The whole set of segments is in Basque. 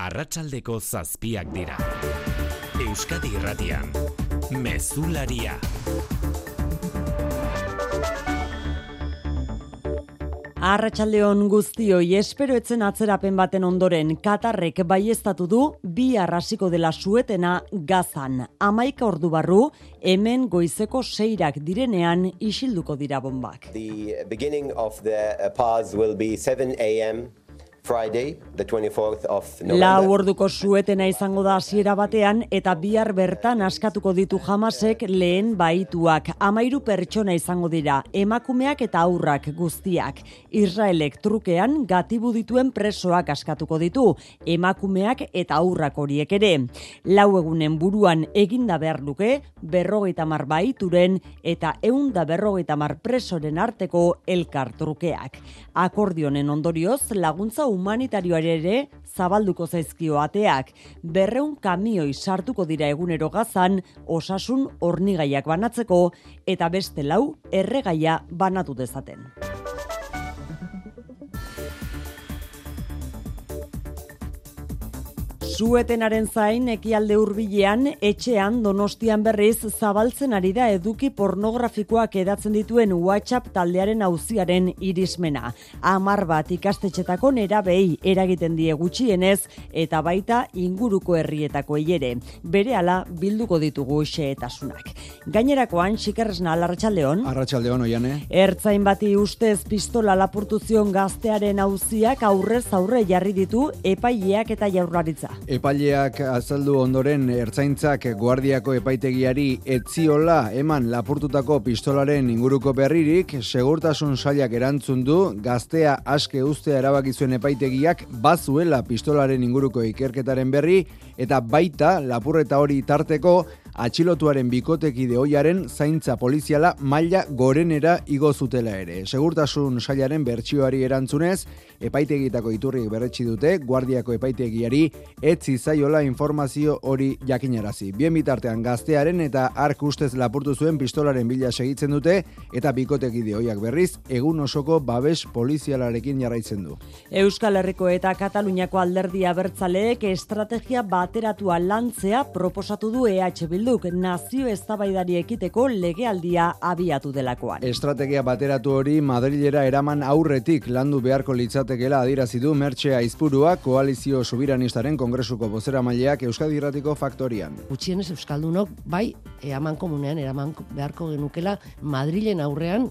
Arratsaldeko 7 dira. Euskadi Irratian, Mezularia. Arratsaldeon guztioi, espero etzen atzerapen baten ondoren, Katarrek baieztatu du bihar hasiko dela suetena Gazan. 11 ordu barru, hemen goizeko 6 direnean isilduko dira bombak. The beginning of the pause will be 7 a.m. Friday, the 24th of November. Lau orduko suetena izango da hasiera batean eta bihar bertan askatuko ditu Hamasek lehen baituak. 13 pertsona izango dira, emakumeak eta haurrak guztiak. Israelek trukean gatibu dituen presoak askatuko ditu, emakumeak eta haurrak horiek ere. 4 egunen buruan eginda behar luke 50 baituren eta 150 presoren arteko elkar trukeak. Akordionen ondorioz laguntza humanitarioare ere zabalduko zaizkio ateak. 200 kamioi sartuko dira egunero Gazan osasun hornigaiak banatzeko eta beste 4 erregaia banatu dezaten. Suetenaren zain ekialde hurbilean, etxean Donostian berriz zabaltzen ari da eduki pornografikoak edatzen dituen WhatsApp taldearen auziaren irismena. 10 bat ikastetxetako nerabei eragiten die gutxienez eta baita inguruko herrietakoei ere. Berehala bilduko ditugu xehetasunak. Gainerakoan Xikerresna Arratsaldeon. Arratsaldeon Oiane. Ertzain bati ustez pistola lapurtu zion gaztearen auziak aurrez aurre jarri ditu epaileak eta Jaurlaritza. Epaileak azaldu ondoren Ertzaintzak Guardiako epaitegiari etziola eman lapurtutako pistolaren inguruko berririk, segurtasun sailak erantzun du gaztea aske uztea erabaki zuen epaitegiak bazuela pistolaren inguruko ikerketaren berri eta baita lapurreta hori tarteko atxilotuaren bikotekide ohiaren zaintza poliziala maila gorenera igo zutela ere. Segurtasun sailaren bertsioari erantzunez, epaitegietako iturriek berretsi dute Guardiako epaitegiari etzi zaiola informazio hori jakinarazi. Bien bitartean gaztearen eta ark ustez lapurtu zuen pistolaren bila segitzen dute eta bikotekide ohiak berriz egun osoko babes polizialarekin jarraitzen du. Euskal Herriko eta Kataluniako alderdi abertzaleek estrategia bateratua lantzea proposatu du EH Bilduk nazio eztabaidari ekiteko legealdia abiatu delakoan. Estrategia bateratu hori Madrilera eraman aurretik landu beharko litzatekeela adierazi du Mertxe Aizpurua koalizio sobiranistaren kongresuko bozeramaileak Euskadi Irratiko Faktorian. Gutxienez euskaldunok bai amankomunean eraman beharko genukela Madrilen aurrean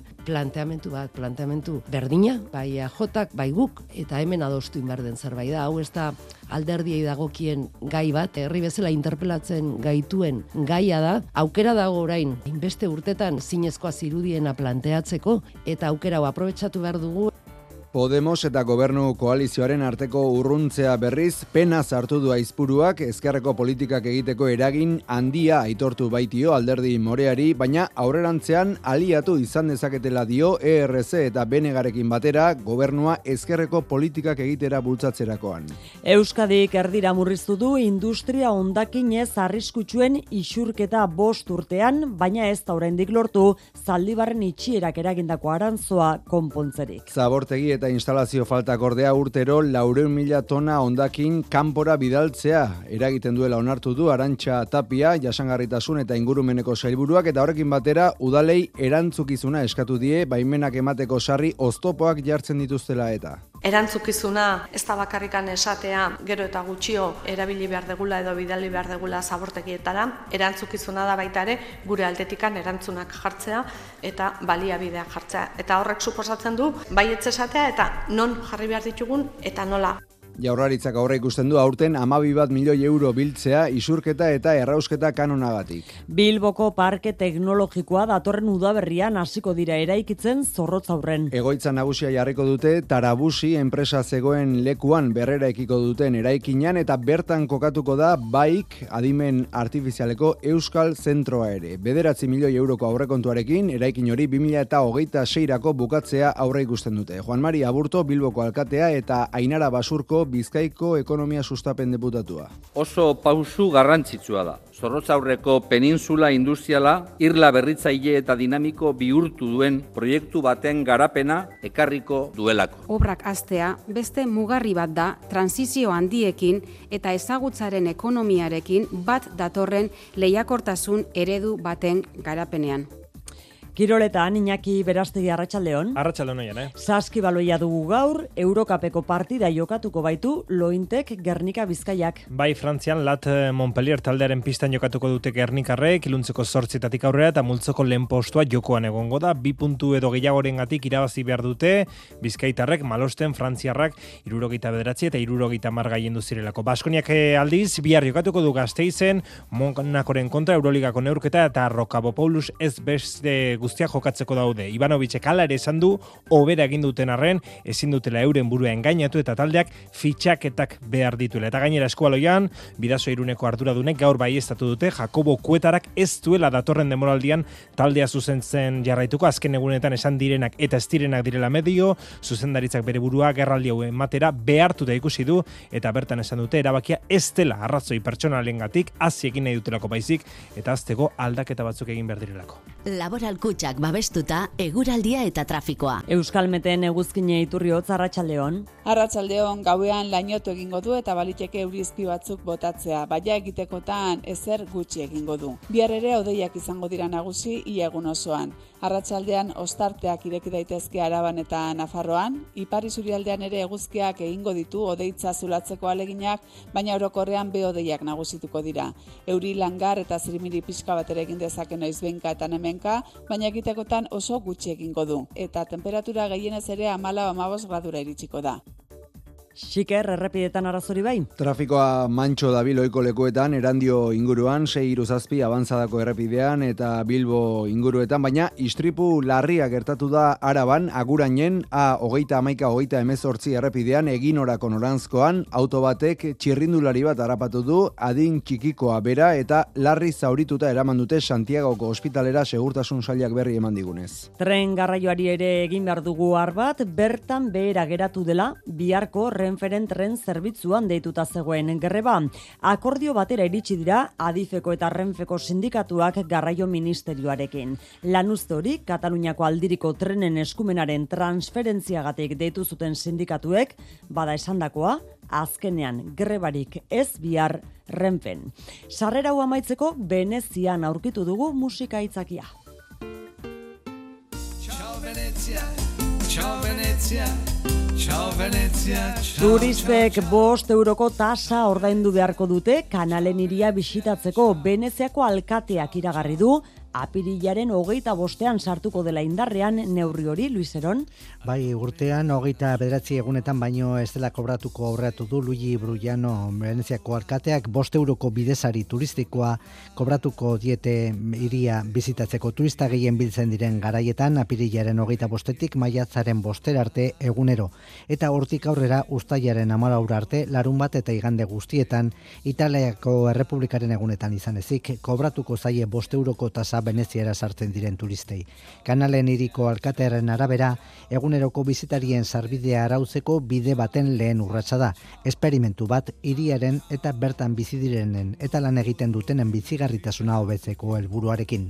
planteamentu berdina, bai AJak, bai guk eta hemen adostu inberden zerbait da. Hau ez da alderdiei dagokien gai bat, herri bezala interpelatzen gaituen gaia da, aukera dago orain, inbeste urtetan zinezkoa zirudiena planteatzeko, eta aukera hau aprobetxatu behar dugu. Podemos eta gobernu koalizioaren arteko urruntzea berriz pena sartu du Aizpuruak ezkerreko politikak egiteko eragin handia aitortu baitio alderdi moreari, baina aurrerantzean aliatu izan dezaketela dio ERC eta Benegarekin batera gobernua ezkerreko politikak egitera bultzatzerakoan. Euskadik erdira murriztu du industria hondakinez arriskutsuen isurketa 5 urtean, baina ez da oraindik lortu Zaldibarren itxierak eragindako aranzoa konpontzerik. Zabortegi eta instalazio faltak ordea urtero 400.000 tona hondakin kanpora bidaltzea eragiten duela onartu du Arantxa Tapia, jasangarritasun eta ingurumeneko sailburuak, eta horrekin batera udalei erantzukizuna eskatu die baimenak emateko sarri oztopoak jartzen dituztela eta. Erantzukizuna ez da bakarrikan esatea gero eta gutxio erabili behar degula edo bidali behar degula zabortegietara, erantzukizuna da baita ere gure aldetikan erantzunak jartzea eta baliabideak jartzea. Eta horrek suposatzen du baietz esatea eta non jarri behar ditugun eta nola. Jaurlaritzak aurre ikusten du aurten 12 milioi euro biltzea isurketa eta errausketa kanonagatik. Bilboko parke teknologikoa datorren udaberrian hasiko dira eraikitzen Zorrotzaurren. Egoitza nagusia jarriko dute Tarabusi enpresa zegoen lekuan berreraikiko duten eraikinan eta bertan kokatuko da baik adimen artifizialeko Euskal Zentroa ere. 9 milioi euroko aurrekontuarekin eraikin hori 2026rako bukatzea aurre ikusten dute. Juan Mari Aburto Bilboko alkatea eta Ainara Basurko Bizkaiko ekonomia sustapen deputatua. Oso pausu garrantzitsua da. Zorrotzaurreko peninsula industriala irla berritzaile eta dinamiko bihurtu duen proiektu baten garapena ekarriko duelako. Obrak hastea beste mugarri bat da transizio handiekin eta ezagutzaren ekonomiarekin bat datorren lehiakortasun eredu baten garapenean. Kiroletan, Iñaki Berastegi, arratsaldeon. Arratsaldeon oian, Saskibaloia dugu gaur, Eurokapeko partida jokatuko baitu Lointek Gernika Bizkaiak. Bai, Frantzian Lat Montpellier taldearen pistan jokatuko dute Gernikarrek, iluntzeko 8 aurrera eta multzoko lehen postua jokoan egongo da. 2 puntu edo gehiagorengatik irabazi behar dute, Bizkaitarrek, Malosten, Frantziarrak 79 eta 70 gailendu zirelako. Baskoniak aldiz, bihar jokatuko du Gasteizen, Monakoren kontra Euroligako neurketa eta Rocabopoulos ez beste guztiak jokatzeko daude. Ivanovicek hala ere esan du, hobera egin duten arren, ezin dutela euren burua engainatu eta taldeak fitxaketak behar dituela. Eta gainera Eskualoian, Bidasoa Iruneko arduradunek gaur baieztatu dute Jakobo Kuetarak ez duela datorren denboraldian taldea zuzentzen jarraituko. Azken egunetan esan direnak eta ez direnak direla medio, zuzendaritzak bere burua gerraldi hau ematera behartu da ikusi du eta bertan esan dute erabakia ez dela arrazoi pertsonalengatik hasi egin nahi dutelako baizik eta azteko aldaketa batzuk egin behar direlako. Laboral Kutxak babestuta eguraldia eta trafikoa. Euskalmeten eguzkine iturri hotz, arratsaldeon. Arratsaldeon, gauean lainotu egingo du eta baliteke eurizpi batzuk botatzea, baina egitekotan ezer gutxi egingo du. Bihar ere hodeiak izango dira nagusi ia egun osoan. Arratsaldean ostarteak ireki daitezke Araban eta Nafarroan, ipar isurialdean ere eguzkiak egingo ditu hodeitza zulatzeko aleginak, baina orokorrean behodeiak nagusituko dira. Euri langar eta zirimiri pixka bat ere egin dezake noizbehinka eta hemenka, baina egitekotan oso gutxi egingo du, eta temperatura gehienez ere 14-15 gradura iritsiko da. Xiker, errepidetan arazori bai? Trafikoa mantxo dabil ohiko lekuetan, Erandio inguruan, 6-7 abantzadako errepidean eta Bilbo inguruetan, baina istripu larria gertatu da Araban, Agurainen, A30-11 errepidean, Eginorako noranzkoan, auto batek txirrindulari bat harrapatu du, adin txikikoa bera eta larri zaurituta eraman dute Santiagoko ospitalera segurtasun sailak berri eman digunez. Tren garraioari ere egin behar dugu bat, bertan behera geratu dela, biharko Renferen tren zerbitzuan deituta zegoen greba. Akordio batera iritsi dira Adifeko eta Renfeko sindikatuak garraio ministerioarekin. Lanuzte hori Kataluniako aldiriko trenen eskumenaren transferentziagatik deitu zuten sindikatuek, bada esandakoa, azkenean grebarik ez bihar Renfen. Sarrera hau amaitzeko Venezian aurkitu dugu musika aitzakia. Ciao Venezia, ciao Venezia. Turistek 5 euroko tasa ordaindu beharko dute kanalen hiria bisitatzeko. Veneziako alkateak iragarri du apirilaren 25ean sartuko dela indarrean neurri hori, Luis Heron. Bai, urtean 29 egunetan baino ez dela kobratuko aurreatu du Luigi Brujano, Veneziako alkateak 5 euroko bidesari turistikoa kobratuko diete hiria bizitatzeko. Turista gehien biltzen diren garaietan apirilaren 25etik maiatzaren 5 arte egunero. Eta hortik aurrera uztailaren 14 arte larunbat eta igande guztietan Italiako Errepublikaren egunetan izan ezik kobratuko zaie 5 euroko tasa Veneziara sartzen diren turistei. Kanalen hiriko alkatearen arabera, eguneroko bizitarien sarbidea arautzeko bide baten lehen urratsa da. Esperimentu bat hiriaren eta bertan bizi direnen eta lan egiten dutenen bizigarritasuna hobetzeko helburuarekin.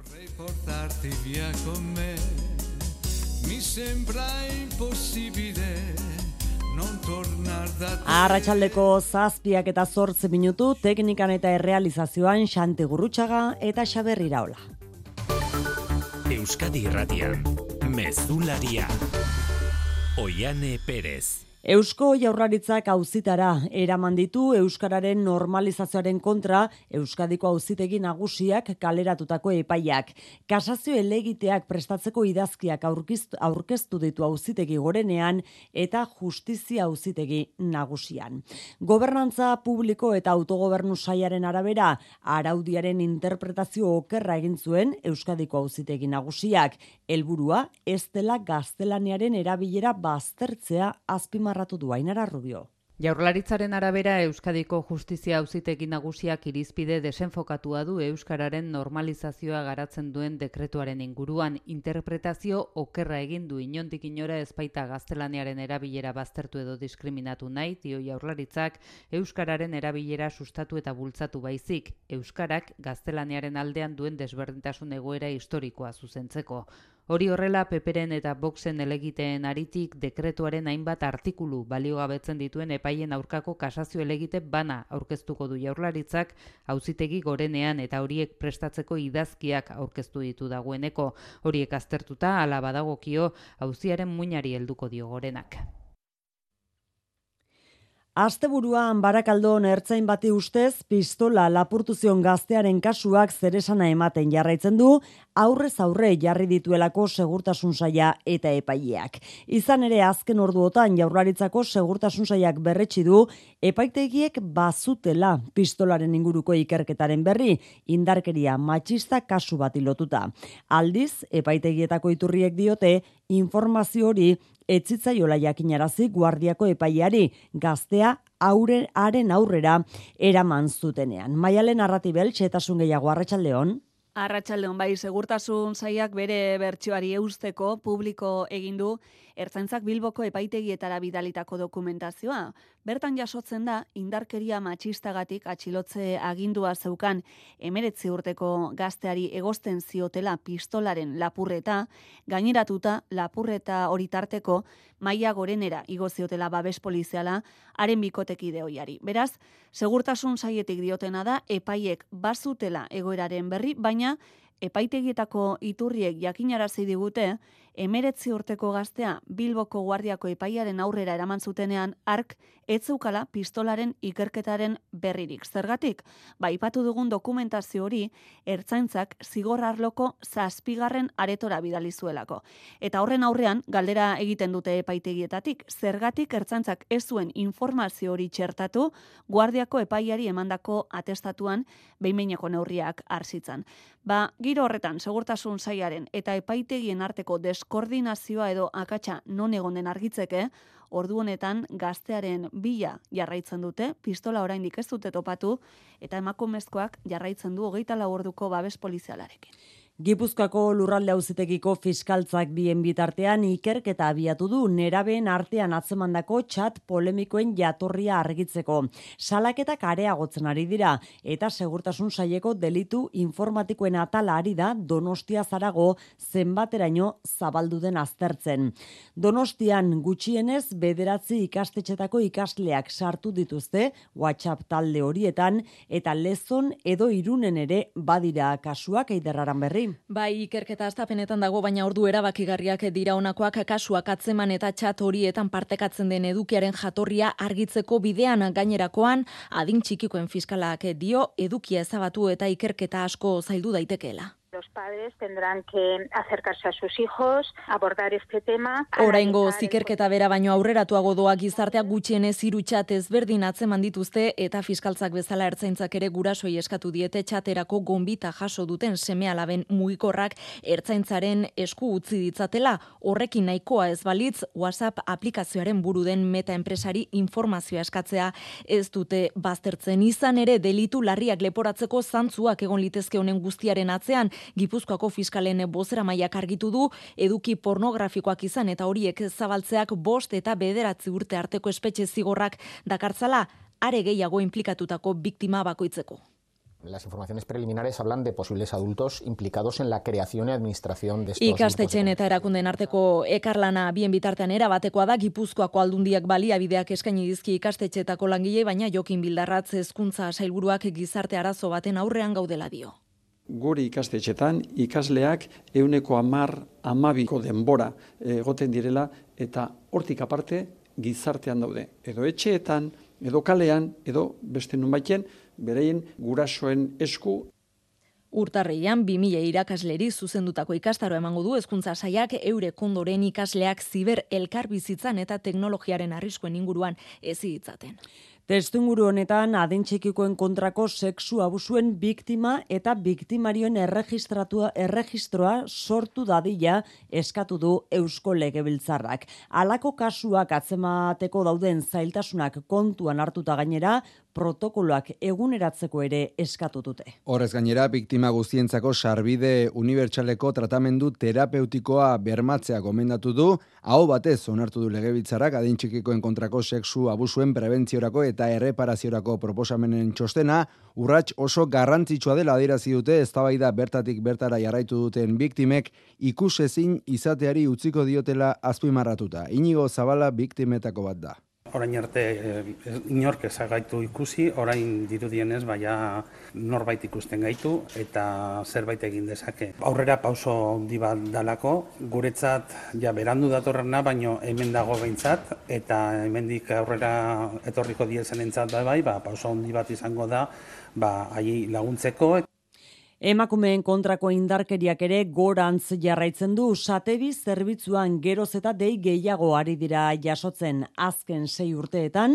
Arratsaldeko 7 eta 8 minutu, teknikan eta errealizazioan Xanti Gurrutxaga eta Xaber Iraola. Euskadi Irratian, Mezularia, Oiane Perez. Eusko Jaurlaritzak auzitara eraman ditu euskararen normalizazioaren kontra Euskadiko auzitegi nagusiak kaleratutako epaiak. Kasazio helegiteak prestatzeko idazkiak aurkeztu ditu auzitegi gorenean eta justizia auzitegi nagusian. Gobernantza publiko eta autogobernu sailaren arabera araudiaren interpretazio okerra egin zuen Euskadiko auzitegi nagusiak. Helburua ez dela gaztelaniaren erabilera baztertzea azpimarratu du Ainara Rubio. Jaurlaritzaren arabera Euskadiko Justizia Auzitegi Nagusiak irizpide desenfokatua du euskararen normalizazioa garatzen duen dekretuaren inguruan. Interpretazio okerra egin du, inondik inora ez baita gaztelaniaren erabilera baztertu edo diskriminatu nahi, dio Jaurlaritzak, euskararen erabilera sustatu eta bultzatu baizik, euskarak gaztelaniaren aldean duen desberdintasun egoera historikoa zuzentzeko. Hori horrela, Peperen eta Voxen elegiteen aritik dekretuaren hainbat artikulu baliogabetzen dituen epaien aurkako kasazio elegite bana aurkeztuko du Jaurlaritzak Auzitegi Gorenean eta horiek prestatzeko idazkiak aurkeztu ditu dagoeneko. Horiek aztertuta hala badagokio auziaren muinari helduko dio Gorenak. Asteburuan Barakaldon ertzain bati ustez pistola lapurtu zion gaztearen kasuak zeresana ematen jarraitzen du, aurrez aurre jarri dituelako segurtasun saila eta epaileak. Izan ere azken orduotan Jaurlaritzako segurtasun sailak berretsi du epaitegiek bazutela pistolaren inguruko ikerketaren berri, indarkeria matxista kasu bati lotuta. Aldiz, epaitegietako iturriek diote informazio hori etzitzaiola jakinarazi guardiako epaileari gaztea haren aurrera eraman zutenean. Maialen Arratibel, xehetasun gehiago, Arratsaldeon. Arratsaldeon, bai, segurtasun sailak bere bertsioari eusteko publiko egin du Ertzaintzak Bilboko epaitegietara bidalitako dokumentazioa. Bertan jasotzen da indarkeria matxistagatik atxilotze agindua zeukan 19 urteko gazteari egozten ziotela pistolaren lapurreta, gaineratuta lapurreta hori tarteko Maila Gorenera igo ziotela babes poliziala haren bikotekide ohiari. Beraz, segurtasun sailetik diotena da epaiek bazutela egoeraren berri, baina epaitegietako iturriek jakinarazi digute 19 urteko gaztea Bilboko guardiako epaiaren aurrera eraman zutenean hark ez zeukala pistolaren ikerketaren berririk. Zergatik, aipatu dugun dokumentazio hori Ertzaintzak zigor arloko 7. aretora bidali zuelako. Eta horren aurrean galdera egiten dute epaitegietatik, zergatik Ertzaintzak ez zuen informazio hori txertatu guardiako epaiari emandako atestatuan behin-behineko neurriak hartzitzan. Giro horretan, segurtasun sailaren eta epaitegien arteko deskoordinazioa edo akatsa non egon den argitzeke, ordu honetan gaztearen bila jarraitzen dute, pistola oraindik ez dute topatu, eta emakumezkoak jarraitzen du 24 orduko babes polizialarekin. Gipuzkoako Lurralde Auzitegiko fiskaltzak bien bitartean ikerketa abiatu du nerabeen artean atzemandako txat polemikoen jatorria argitzeko. Salaketak areagotzen ari dira eta segurtasun saileko delitu informatikoen atala ari da Donostia Zarago zenbateraino zabaldu den aztertzen. Donostian gutxienez 9 ikastetxetako ikasleak sartu dituzte WhatsApp talde horietan eta Lezon edo Irunen ere badira kasuak. Eiderraran berri. Bai, ikerketa hastapenetan dago, baina ordu erabakigarriak dira honakoak, kasuak atzeman eta txat horietan partekatzen den edukiaren jatorria argitzeko bidean. Gainerakoan, adin txikikoen fiskalak dio edukia ezabatu eta ikerketa asko zaildu daitekeela. Los padres tendrán que acercarse a sus hijos, abordar este tema. Oraingo ikerketa bera baino aurreratuago doa, gizarteak gutxienez 3 txat ezberdin atzeman dituzte eta fiskaltzak bezala Ertzaintzak ere gurasoei eskatu diete txaterako gonbita jaso duten seme-alaben mugikorrak Ertzaintzaren esku utzi ditzatela. Horrekin nahikoa ez balitz, WhatsApp aplikazioaren buru den Meta enpresari informazioa eskatzea ez dute baztertzen. Izan ere delitu larriak leporatzeko zantzuak egon litezke honen guztiaren atzean. Gipuzkoako fiskalen bozeramaileak argitu du eduki pornografikoak izan eta horiek zabaltzeak 5 eta 9 urte arteko espetxe zigorrak dakartzala, are gehiago inplikatutako biktima bakoitzeko. Las informaciones preliminares hablan de posibles adultos implicados en la creación y administración de estos Ikastetxeen eta erakunden arteko ekarlana bien bitartean erabatekoa da. Gipuzkoako aldundiak baliabideak eskaini dizki ikastetxeetako langilei, baina Jokin Bildarratz hezkuntza sailburuak gizarte arazo baten aurrean gaudela dio. Guri ikastetxetan ikasleak 10-12 denbora egoten direla eta hortik aparte gizartean daude. Edo etxeetan, edo kalean, edo beste nunbaiten bereien gurasoen esku. Urtarrian 2000 irakasleri zuzendutako ikastaro emango du hezkuntza sailak eurek ondoren ikasleak ziber elkarbizitzan eta teknologiaren arriskuen inguruan hezi ditzaten. Testuinguru honetan adin txikikoen kontrako sexu abusuen biktima eta biktimarioen erregistroa sortu dadila eskatu du Eusko Legebiltzarrak. Halako kasuak atzemateko dauden zailtasunak kontuan hartuta gainera, protokoloak eguneratzeko ere eskatu dute. Horrez gainera, biktima guztientzako sarbide unibertsaleko tratamendu terapeutikoa bermatzea gomendatu du, aho batez onartu du Legebiltzarrak adin txikikoen kontrako sexu abusuen prebentziorako eta erreparaziorako proposamenen txostena, urrats oso garrantzitsua dela adierazi dute eztabaida bertatik bertara jarraitu duten biktimek ikusezin izateari utziko diotela azpimarratuta. Inigo Zabala biktimetako bat da. Orain arte inork ez gaitu ikusi, orain dirudienez baina norbait ikusten gaitu eta zerbait egin dezake. Aurrera pauso handi bat dalako, guretzat ja berandu datorrena, baino hemen dago behintzat, eta hemendik aurrera etorriko diezenentzat pauso handi bat izango da, haiei laguntzeko. Emakumeen kontrako indarkeriak ere gorantz jarraitzen du. Satebi zerbitzuan geroz eta dei gehiago ari dira jasotzen. Azken 6 urteetan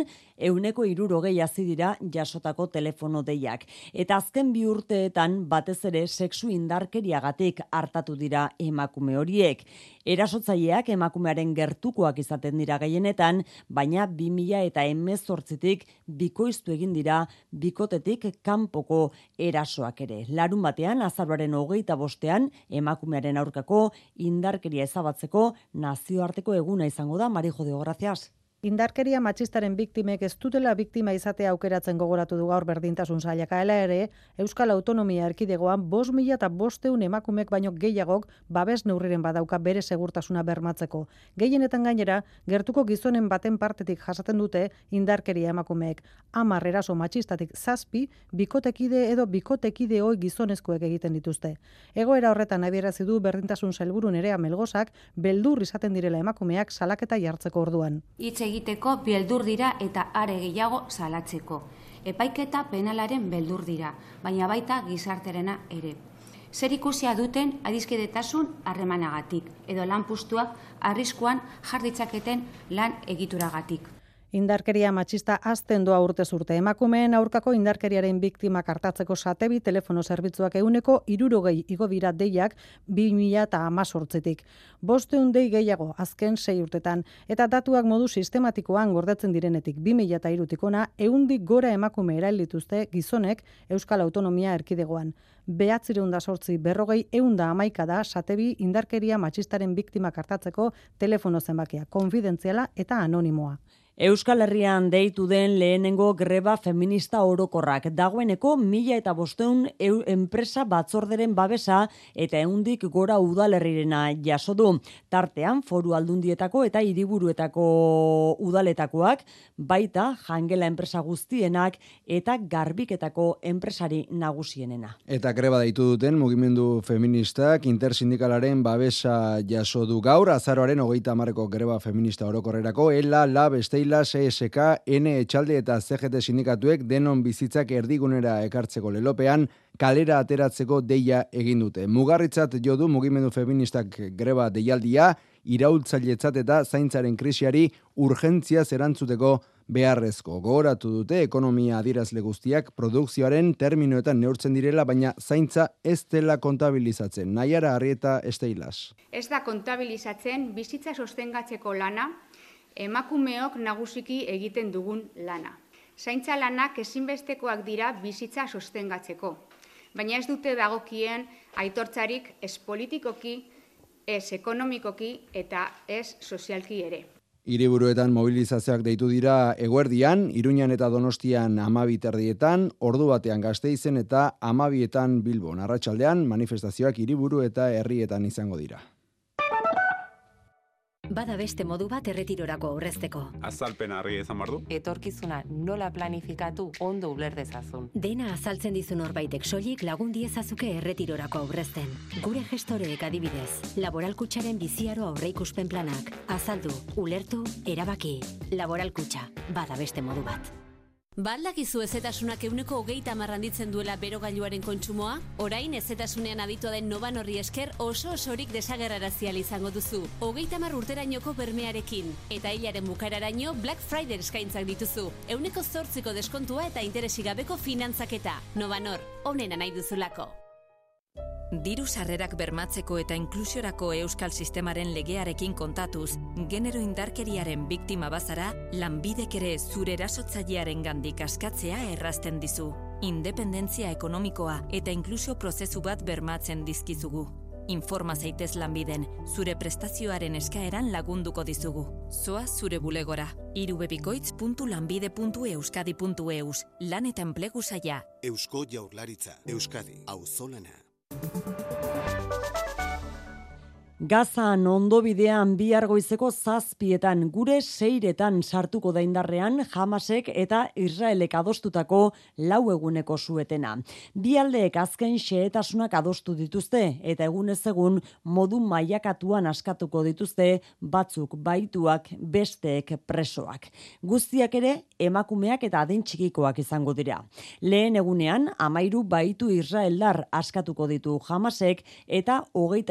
160 hasi dira jasotako telefono deiak. Eta azken 2 urteetan batez ere sexu indarkeriagatik hartatu dira emakume horiek. Erasotzaileak emakumearen gertukoak izaten dira gehienetan, baina 2018tik bikoiztu egin dira bikotetik kanpoko erasoak ere. Larun batean, azaroaren 25ean, emakumearen aurkako indarkeria ezabatzeko nazioarteko eguna izango da. Marijo de Gracias. Indarkeria matxistaren biktimek ez dutela biktima izatea aukeratzen gogoratu du gaur berdintasun sailak. Hala ere, Euskal Autonomia Erkidegoan 5.500 emakumek baino gehiagok babes neurriren badauka bere segurtasuna bermatzeko. Gehienetan gainera, gertuko gizonen baten partetik jasaten dute indarkeria emakumeek. 10 eraso matxistatik 7 bikotekide edo bikotekide ohi gizonezkoek egiten dituzte. Egoera horretan adierazi du berdintasun sailburu Nerea Melgozak beldur izaten direla emakumeak salaketa jartzeko orduan. Egiteko beldur dira eta are gehiago salatzeko. Epaiketa penalaren beldur dira, baina baita gizarterena ere. Zer ikusia duten adiskidetasun harremanagatik edo lanpostuak arriskuan jar ditzaketen lan egituragatik. Indarkeria matxista hazten doa urtez urte. Emakumeen aurkako indarkeriaren biktimak artatzeko Satebi telefono zerbitzuak 160 igo dira deiak 2018tik. 500 dei gehiago azken 6 urtetan eta datuak modu sistematikoan gordetzen direnetik 2003tik ona 100 gora emakume erail dituzte gizonek Euskal Autonomia Erkidegoan. 908 40 111 da Satebi indarkeria matxistaren biktimak artatzeko telefono zenbakia, konfidentziala eta anonimoa. Euskal Herrian deitu den lehenengo greba feminista orokorrak. Dagoeneko 1500 enpresa batzorderen babesa eta 100 gora udalerrirena jaso du. Tartean Foru Aldundietako eta hiriburuetako udaletakoak, baita jangela enpresa guztienak eta garbiketako enpresari nagusienena. Eta greba deitu duten mugimendu feministak intersindikalaren babesa jaso du gaur, azaroaren 30ko greba feminista orokorrerako, ELA, LAB, CSK, N, Etxalde eta CGT sindikatuek denon bizitzak erdigunera ekartzeko lelopean kalera ateratzeko deia egin dute. Mugarritzat jo du mugimendu feministak greba deialdia, iraultzailetzat eta zaintzaren krisiari urgentziaz erantzuteko beharrezko. Gogoratu dute ekonomia adierazle guztiak produkzioaren terminoetan neurtzen direla, baina zaintza ez dela kontabilizatzen. Naiara Arrieta Esteilas. Ez da kontabilizatzen bizitza sostengatzeko lana, emakumeok nagusiki egiten dugun lana. Zaintza lanak ezinbestekoak dira bizitza sostengatzeko, baina ez dute dagokien aitortzarik ez politikoki, ez ekonomikoki eta ez sozialki ere. Hiriburuetan mobilizazioak deitu dira eguerdian, Iruñan eta Donostian 12 ordu batean Gasteizen eta 12 Bilbon. Arratsaldean manifestazioak hiriburu eta herrietan izango dira. Bada beste modu bat erretirorako aurrezteko. Azalpena argi izan behar du. Etorkizuna nola planifikatu ondo uler dezazun. Dena azaltzen dizu norbaitek soilik lagun diezazuke erretirorako aurrezten. Gure gestoreek adibidez, Laboral Kutxaren biziaro aurreikuspen planak. Azaldu, ulertu, erabaki. Laboral Kutxa, bada beste modu bat. Baldakizu ezetasunak 20% handitzen duela berogailuaren kontsumoa? Orain ezetasunean aditua den Novan horri esker oso-osorik desagerrarazial izango duzu. 30 urterainoko bermearekin. Eta hilaren bukaeraraino Black Friday eskaintzak dituzu. 8% deskontua eta interesik gabeko finantzaketa. Novanor, onena nahi duzulako. Diru sarrerak bermatzeko eta inklusiorako euskal sistemaren legearekin kontatuz, genero indarkeriaren biktima bazara, lanbidek ere zure erasotzailearen gandik askatzea errazten dizu. Independentzia ekonomikoa eta inklusio prozesu bat bermatzen dizkizugu. Informa zaitez lanbiden, zure prestazioaren eskaeran lagunduko dizugu. Zoaz zure bulegora. irubebikoitz.lanbide.euskadi.eus. Lan eta enplegu saila. Eusko Jaurlaritza. Euskadi. Auzolana. Gazan ondo bidean bihar goizeko 7:00 gure 6:00 sartuko da indarrean Hamasek eta Israelek adostutako 4 eguneko suetena. Bi aldeek azken xehetasunak adostu dituzte eta egunez egun modu mailakatuan askatuko dituzte batzuk baituak besteek presoak. Guztiak ere emakumeak eta adin txikikoak izango dira. Lehen egunean 13 baitu israeldar askatuko ditu Hamasek eta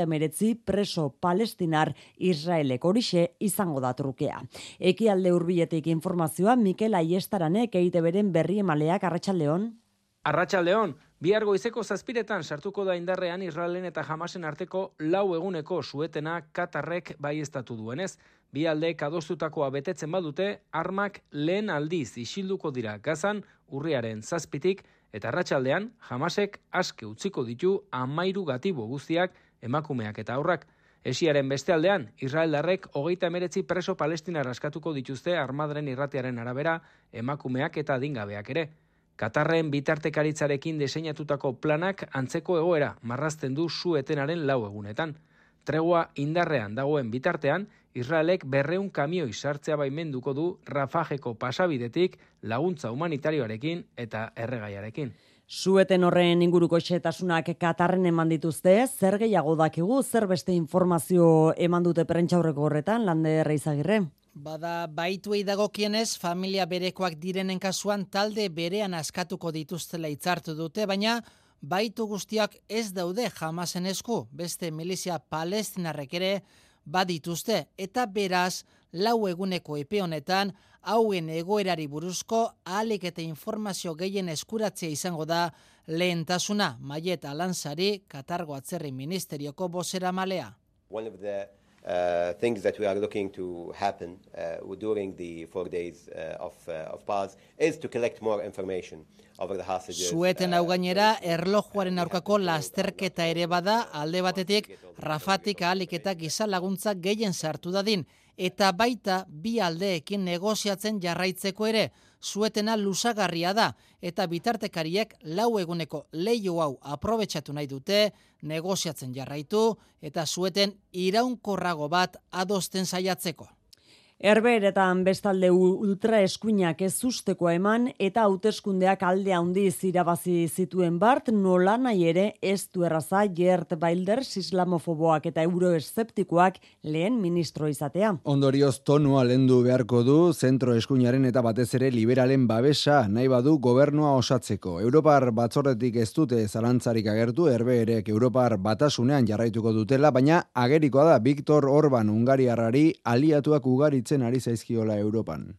39 preso palestinar Israelek, horixe izango da trukea. Ekialde hurbiletik informazioa Mikel Aiestaranek EITBren berri emaleak. Arratsaldeon. Arratsaldeon, bihar goizeko 7:00 sartuko da indarrean Israelen eta Hamasen arteko 4 eguneko suetena Katarrek baieztatu duenez. Bi aldeek adostutakoa betetzen badute, armak lehen aldiz isilduko dira Gazan urriaren 7:00 eta arratsaldean Hamasek aske utziko ditu 13 gatibo guztiak, emakumeak eta haurrak. Esiaren beste aldean, Israeldarrek 39 preso palestinar askatuko dituzte Armadaren irratiaren arabera, emakumeak eta adingabeak ere. Katarren bitartekaritzarekin diseinatutako planak antzeko egoera marrazten du su-etenaren 4 egunetan. Tregua indarrean dagoen bitartean, Israelek 200 kamioi sartzea baimenduko du Rafajeko pasabidetik laguntza humanitarioarekin eta erregaiarekin. Sueten horren inguruko xehetasunak Katarren eman dituzte, zer gehiago dakigu, zer beste informazio eman dute prentsaurreko horretan, Lander Izagirre? Bada, baituei dagokienez, familia berekoak direnen kasuan talde berean askatuko dituztela hitzartu dute, baina baitu guztiak ez daude Hamasen esku, beste milizia palestinarrek ere badituzte, eta beraz, 4 eguneko epe honetan, hauen egoerari buruzko ahalik eta informazio gehien eskuratzea izango da lehentasuna. Maiet Alansari, Katargo Atzerri Ministerioko bozeramalea. One of the things that we are looking to happen during the 4 days of pause is to collect more information over the hostages. Sueten hau gainera, erlojuaren aurkako lasterketa ere bada, alde batetik, Rafatik ahalik eta giza laguntza gehien sartu dadin, eta baita bi aldeekin negoziatzen jarraitzeko ere, suetena luzagarria da, eta bitartekariek 4 eguneko leiho hau aprobetxatu nahi dute, negoziatzen jarraitu, eta sueten iraunkorrago bat adosten saiatzeko. Herbeeretan bestalde ultra eskuinak ez ustekoa eman eta hauteskundeak alde handiz irabazi zituen bart, nola nahi ere ez du erraza Geert Wilders islamofoboak eta euroeszeptikoak lehen ministro izatea. Ondorioz tonua lendu beharko du zentro eskuinaren eta batez ere liberalen babesa nahi badu gobernua osatzeko. Europar batzordetik ez dute zalantzarik agertu, herbeerek Europar batasunean jarraituko dutela, baina agerikoa da Viktor Orban Hungariarrari aliatuak ugaritzen ari zaizkiola Europan.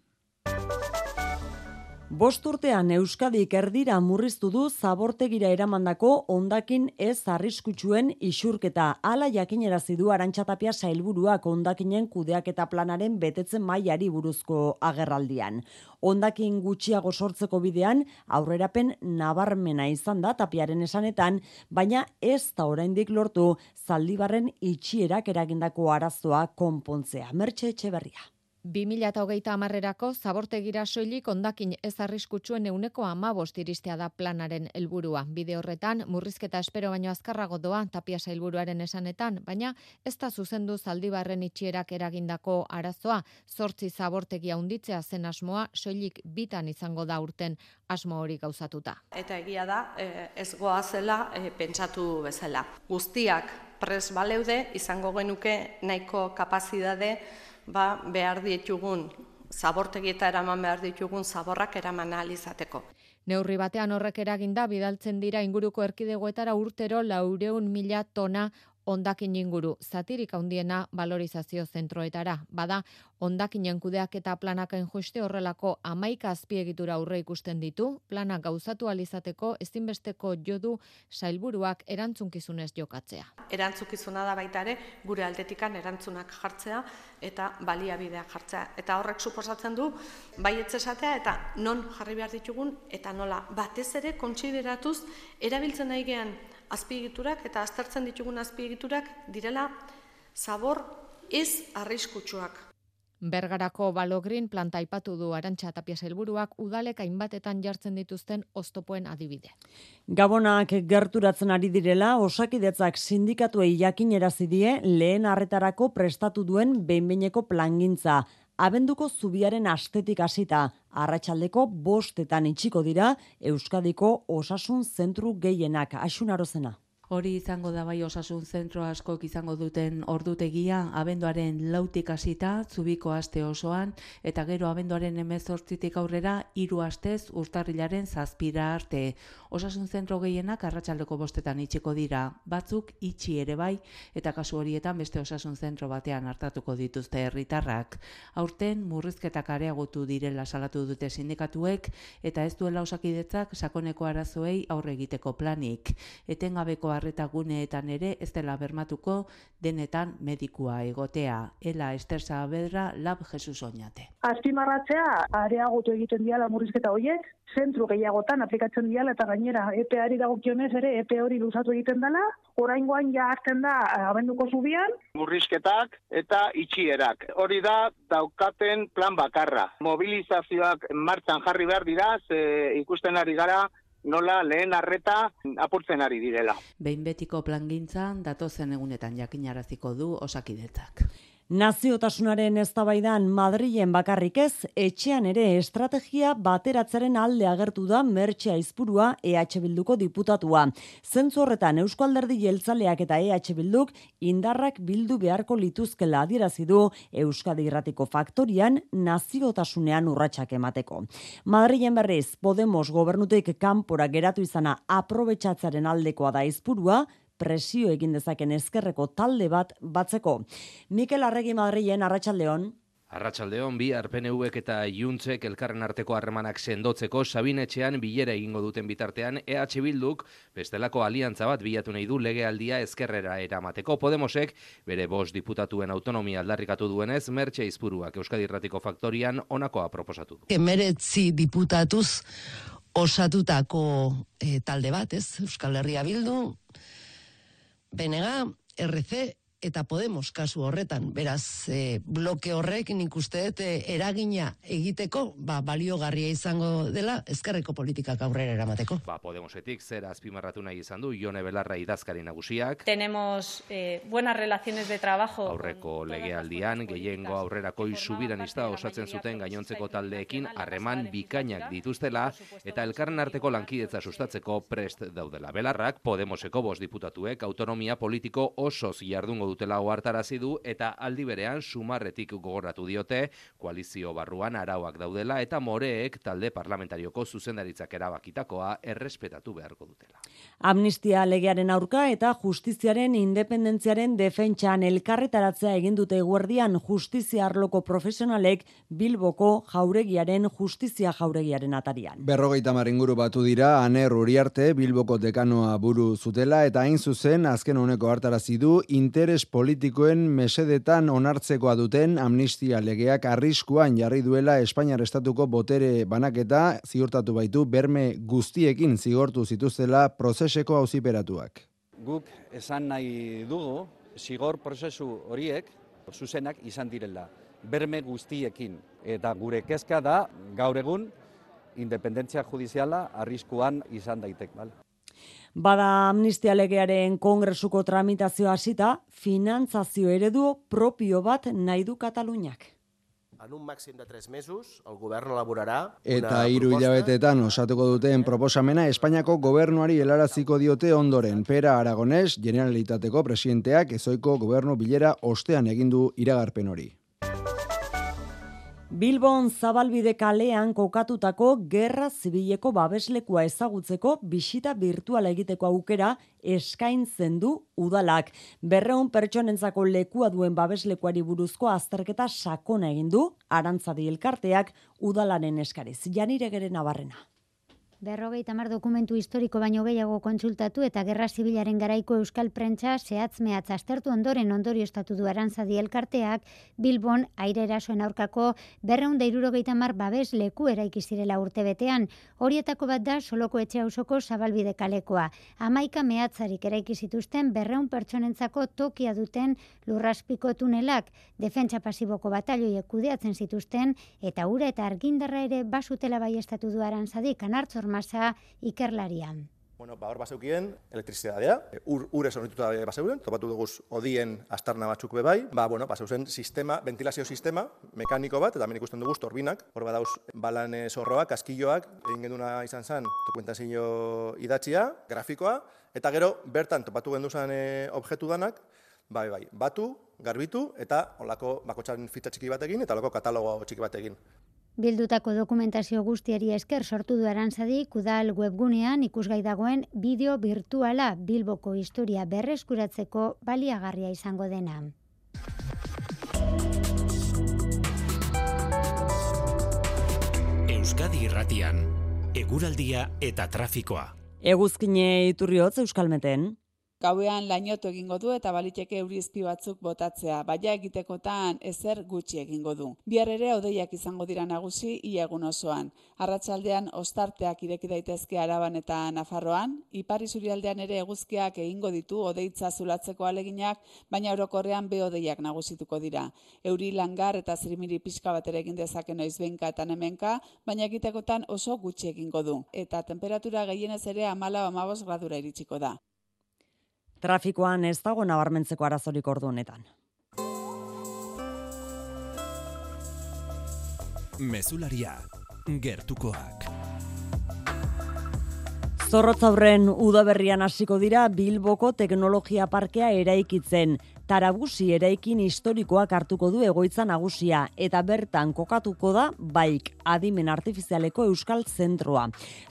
5 urtean Euskadik erdira murriztu du zabortegira eramandako hondakin ez arriskutsuen isurketa. Hala jakinerazi du Arantxa Tapia sailburuak hondakinen kudeaketa planaren betetzen mailari buruzko agerraldian. Hondakin gutxiago sortzeko bidean aurrerapen nabarmena izan da Tapiaren esanetan, baina ez da oraindik lortu Zaldibarren itxierak eragindako arazoa konpontzea. Mertxe Etxeberria. 2030erako zabortegira soilik hondakin ez arriskutsuen 15% iristea da planaren helburua. Bide horretan, murrizketa espero baino azkarrago doa Tapia sailburuaren esanetan, baina ez da zuzendu Zaldibarren itxierak eragindako arazoa, 8 zabortegi handitzea zen asmoa, soilik 2 izango da urten asmo hori gauzatuta. Eta egia da, ez goazela pentsatu bezala. Guztiak pres baleude, izango genuke nahiko kapazidade behar ditugun zabortegieta eraman behar ditugun zaborrak eraman ahal izateko. Neurri batean horrek eraginda bidaltzen dira inguruko erkidegoetara urtero 400.000 tona hondakin inguru, zatirik handiena valorizazio zentroetara. Bada, hondakinen kudeaketa planakain juste horrelako 11 azpiegitura aurre ikusten ditu, planak gauzatu alizateko ezinbesteko jodu sailburuak erantzunkizunez jokatzea. Erantzukizuna da baita ere, gure aldetikan erantzunak jartzea eta baliabideak jartzea. Eta horrek suposatzen du, baietz esatea eta non jarri behar ditugun, eta nola batez ere kontsideratuz erabiltzen nahi gean azpiegiturak eta aztertzen ditugun azpiegiturak direla zabor ez arriskutsuak. Bergarako Balogrin planta aipatu du Arantxa Tapia sailburuak udalek hainbatetan jartzen dituzten oztopoen adibide. Gabonak gerturatzen ari direla, Osakidetzak sindikatuei jakinarazi die lehen arretarako prestatu duen behin-behineko plangintza. Abenduko zubiaren astetik hasita, arratsaldeko 5etan itxiko dira Euskadiko osasun zentru gehienak. Axun Arozena. Hori izango da bai osasun zentro askok izango duten ordutegia, abenduaren 4tik hasita, zubiko aste osoan, eta gero abenduaren 18tik aurrera 3 astez urtarrilaren 7 arte. Osasun zentro gehienak arratsaldeko 5etan itxiko dira, batzuk itxi ere bai, eta kasu horietan beste osasun zentro batean hartatuko dituzte herritarrak. Aurten murrizketak areagotu direla salatu dute sindikatuek, eta ez duela Osakidetzak sakoneko arazoei aurre egiteko planik. Etengabeko arreta guneetan ere ez dela bermatuko denetan medikua egotea. Ela Ester Saavedra, Lab Jesus Oñate. Azpimarratzea areagotu egiten diala murrizketa horiek, zentru gehiagotan aplikatzen diala eta gainera EPEari dagokionez ere EPE hori luzatu egiten dela, oraingoan ja hartzen da abenduko zubian. Murrizketak eta itxierak. Hori da daukaten plan bakarra. Mobilizazioak martxan jarri behar dira, ikusten ari gara nola lehen arreta apurtzen ari direla. Behin betiko plangintzan datozen egunetan jakinaraziko du Osakidetzak. Naziotasunaren eztabaidan Madrilen bakarrik ez, etxean ere estrategia bateratzaren alde agertu da Mertxe Aizpurua EH Bilduko diputatua. Zentzu horretan Eusko Alderdi Jeltzaleak eta EH Bilduk indarrak bildu beharko lituzkela adierazi du Euskadi Irratiko Faktorian naziotasunean urratsak emateko. Madrilen berriz Podemos gobernutik kanpora geratu izana aprobetxatzaren aldekoa da Aizpurua, presio egin dezaken ezkerreko talde bat batzeko. Mikel Arregi Madrilen, arratsaldeon. Arratsaldeon, bihar PNVek eta Juntzek elkarren arteko harremanak sendotzeko Sabinetxean bilera egingo duten bitartean EH Bilduk bestelako aliantza bat bilatu nahi du legealdia ezkerrera eramateko. Podemosek bere 5 diputatuen autonomia aldarrikatu duenez, Mertxe Aizpuruak Euskadi Irratiko Faktorian honakoa proposatu du. 19 diputatuz osatutako talde bat, ez? Euskal Herria Bildu, BNG, RC eta Podemos kasu horretan. Beraz, bloke horrek nik uste dut eragina egiteko baliogarria izango dela ezkerreko politikak aurrera eramateko. Podemosetik zer azpimarratu nahi izan du Jone Belarra idazkari nagusiak. Tenemos buenas relaciones de trabajo. Aurreko legealdian gehiengo aurrerakoi subiranista osatzen zuten gainontzeko taldeekin harreman bikainak dituztela eta elkarren arteko lankidetza sustatzeko prest daudela. Belarrak Podemoseko 5 diputatuek autonomia politiko osoz jardungo dutela ohartarazi du eta aldi berean sumarretik gogoratu diote koalizio barruan arauak daudela eta moreek talde parlamentarioko zuzendaritzak erabakitakoa errespetatu beharko dutela. Amnistia legearen aurka eta justiziaren independentziaren defentsan elkarretaratzea egin dute eguerdian justizia arloko profesionalek Bilboko jauregiaren justizia jauregiaren atarian. 50 inguru batu dira Aner Uriarte Bilboko dekanoa buru zutela eta hain zuzen azken honeko hartarazi du interes politikoen mesedetan onartzekoa duten amnistia legeak arriskuan jarri duela Espainiar estatuko botere banaketa ziurtatu baitu berme guztiekin zigortu zituztela prozeseko auziperatuak. Guk esan nahi dugu zigor prozesu horiek zuzenak izan direla berme guztiekin eta gure kezka da gaur egun independentzia judiziala arriskuan izan daitek, bale? Bada amnistia legearen kongresuko tramitazio hasita, finantzazio eredu propio bat nahi du Kataluniak. En un màxim de 3 mesos, el govern elaborarà eta 3 hilabetetan osatuko duten proposamena Espainiako gobernuari helaraziko diote ondoren. Pera Aragones, Generalitateko presidenteak ezoiko gobernu bilera ostean egin du iragarpen hori. Bilbon Zabalbide kalean kokatutako gerra zibileko babeslekua ezagutzeko bisita virtuala egiteko aukera eskaintzen du udalak. 200 pertsonentzako lekua duen babeslekuari buruzko azterketa sakona egin du Arantzadi elkarteak udalaren eskariz. Janiregeren Nabarrena. 50 dokumentu historiko baino gehiago kontsultatu eta gerra zibilaren garaiko euskal prentsa zehatz-mehatz aztertu ondoren ondorioztatu du Arantzadi elkarteak Bilbon aire erasoen aurkako 270 babes leku eraiki zirela urtebetean. Horietako bat da Soloko etxe auzoko Zabalbide kalekoa. 11 mehatzarik eraiki zituzten 200 pertsonentzako tokia duten lurraspiko tunelak, defentsa pasiboko batailoiek kudeatzen zituzten eta ura eta argindarra ere basutela baiestatu du Arantzadi Kanartzor masa ikerlarian. Hor baseukien elektrizitatea, ur esornituta baseuren, topatu duguz odien astarna batzuk bebai, baseuzen sistema, ventilazio sistema, mekaniko bat, eta hemen ikusten duguz torbinak, hor badauz balan zorroak, askilloak, egin genduna izan zen, dokumentazio idatzia, grafikoa, eta gero bertan topatu genduzan objektu danak, batu, garbitu, eta olako bakotxaren fitxa txiki batekin, eta olako katalogo txiki batekin. Bildutako dokumentazio guztiari esker sortu du Arantzadi udal webgunean ikusgai dagoen bideo virtuala Bilboko historia berreskuratzeko baliagarria izango dena. Euskadi Irratian, eguraldia eta trafikoa. Eguzkine Iturriotz Euskalmeten. Gauean lainotu egingo du eta baliteke eurizpi batzuk botatzea, baina egitekotan ezer gutxi egingo du. Bihar ere hodeiak izango dira nagusi ia egun osoan. Arratsaldean ostarteak ireki daitezke Araban eta Nafarroan, ipar isurialdean ere eguzkiak egingo ditu hodeitza zulatzeko aleginak, baina orokorrean behodeiak nagusituko dira. Euri langar eta zirimiri pixka bat ere egin dezake noizbehinka eta hemenka, baina egitekotan oso gutxi egingo du. Eta temperatura gehienez ere 14-15 gradura iritsiko da. Trafikoan ez dago nabarmentzeko arazorik ordu honetan. Mezularia, gertukoak. Zorrotzaurren udaberrian hasiko dira Bilboko Teknologia Parkea eraikitzen. Tarabusi eraikin historikoak hartuko du egoitza nagusia eta bertan kokatuko da BAIK, adimen artifizialeko euskal zentroa.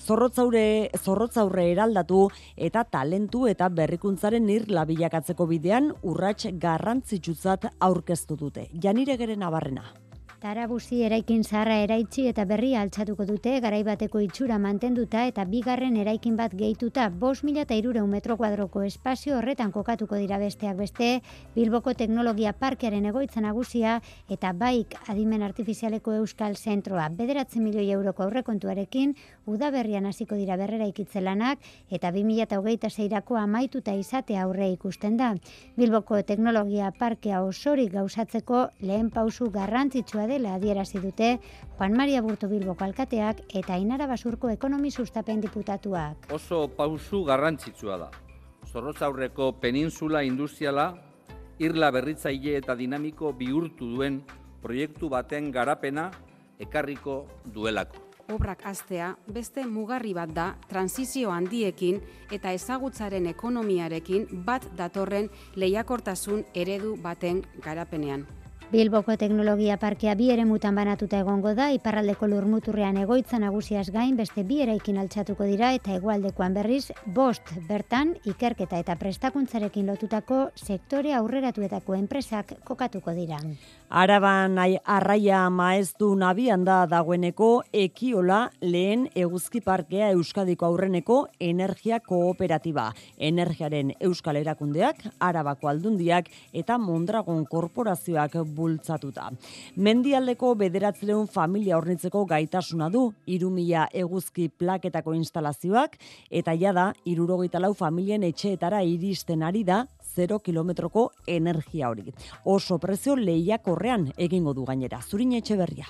Zorrotzaurre eraldatu eta talentu eta berrikuntzaren irla bilakatzeko bidean urrats garrantzitsutzat aurkeztu dute. Janiregeren Nabarrena. Tarabusi eraikin zaharra eraitsi eta berria altxatuko dute garaibateko itxura mantenduta eta bigarren eraikin bat gehituta 5.300 metro kuadroko espazio horretan kokatuko dira besteak beste Bilboko Teknologia Parkearen egoitza nagusia eta BAIK adimen artifizialeko euskal zentroa 9 milioi euroko aurrekontuarekin udaberrian hasiko dira berreraikitze lanak eta 2026erako amaituta izatea aurre ikusten da. Bilboko Teknologia Parkea osorik gauzatzeko lehen pausu garrantzitsua dela adierazi dute Juan Maria Burto Bilboko alkateak eta Ainara Basurko ekonomi sustapen diputatuak. Oso pausu garrantzitsua da. Zorrotzaurreko peninsula industriala irla berritzaile eta dinamiko bihurtu duen proiektu baten garapena ekarriko duelako. Obrak hastea beste mugarri bat da transizio handiekin eta ezagutzaren ekonomiarekin bat datorren lehiakortasun eredu baten garapenean. Bilboko Teknologia Parkea 2 eremutan banatuta egongo da, iparraldeko lurmuturrean egoitza nagusiaz gain beste 2 eraikin altxatuko dira eta hegoaldekoan berriz 5 bertan ikerketa eta prestakuntzarekin lotutako sektore aurreratuetako enpresak kokatuko dira. Araban arraia maestu nabian da dagoeneko Ekiola lehen eguzki parkea Euskadiko aurreneko energia kooperatiba. Energiaren euskal erakundeak, Arabako aldundiak eta Mondragon korporazioak bultzatuta. Mendialdeko 900 familia hornitzeko gaitasuna du 3.000 eguzki plaketako instalazioak eta jada 74 familien etxeetara iristen ari da 0 kilometroko energia hori. Oso prezio lehiakorrean egingo du gainera. Zurin Etxeberria.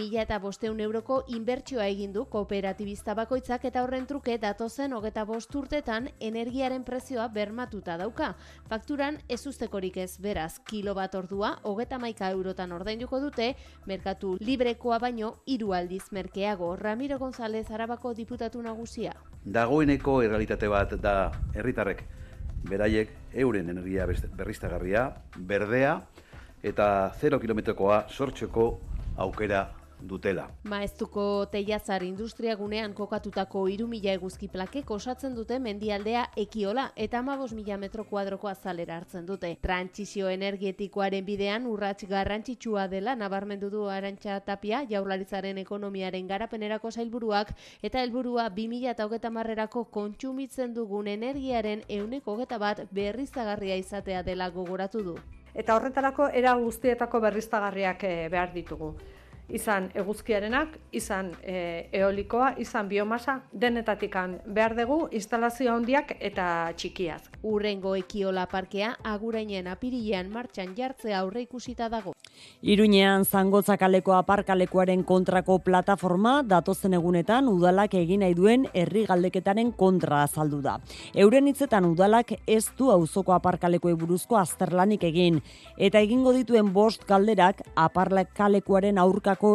1.500 euroko inbertsioa egin du kooperatibista bakoitzak eta horren truke datozen 25 urtetan energiaren prezioa bermatuta dauka. Fakturan ez ustekorik ez, beraz, kilobat ordua 31 eurotan ordainduko dute, merkatu librekoa baino 3 aldiz merkeago. Ramiro González Arabako diputatu nagusia. Dagoeneko errealitate bat da herritarrek beraiek euren energia berriztagarria, berdea eta 0 kilometrokoa sortzeko aukera dutela. Maeztuko Teiazar industriagunean kokatutako 3.000 eguzki plakek osatzen dute mendialdea Ekiola eta 15.000 metro kuadroko azalera hartzen dute. Trantsizio energetikoaren bidean urrats garrantzitsua dela nabarmendu du Arantxa Tapia, Jaurlaritzaren ekonomiaren garapenerako sailburuak, eta helburua 2030erako kontsumitzen dugun energiaren 101% berriztagarria izatea dela gogoratu du. Eta horretarako era guztietako berriztagarriak behar ditugu. Izan eguzkiarenak, izan eolikoa, izan biomasa, denetatikan behar dugu instalazio handiak eta txikiaz. Urrengo Ekiola parkea Agurainen apirilean martxan jartzea aurreikusita dago. Iruñean Zangotza kaleko aparkalekuaren kontrako plataforma datozen egunetan udalak egin nahi duen herri galdeketaren kontra azaldu da. Euren hitzetan udalak ez du auzoko aparkalekuei buruzko azterlanik egin eta egingo dituen 5 galderak aparkalekuaren aurkako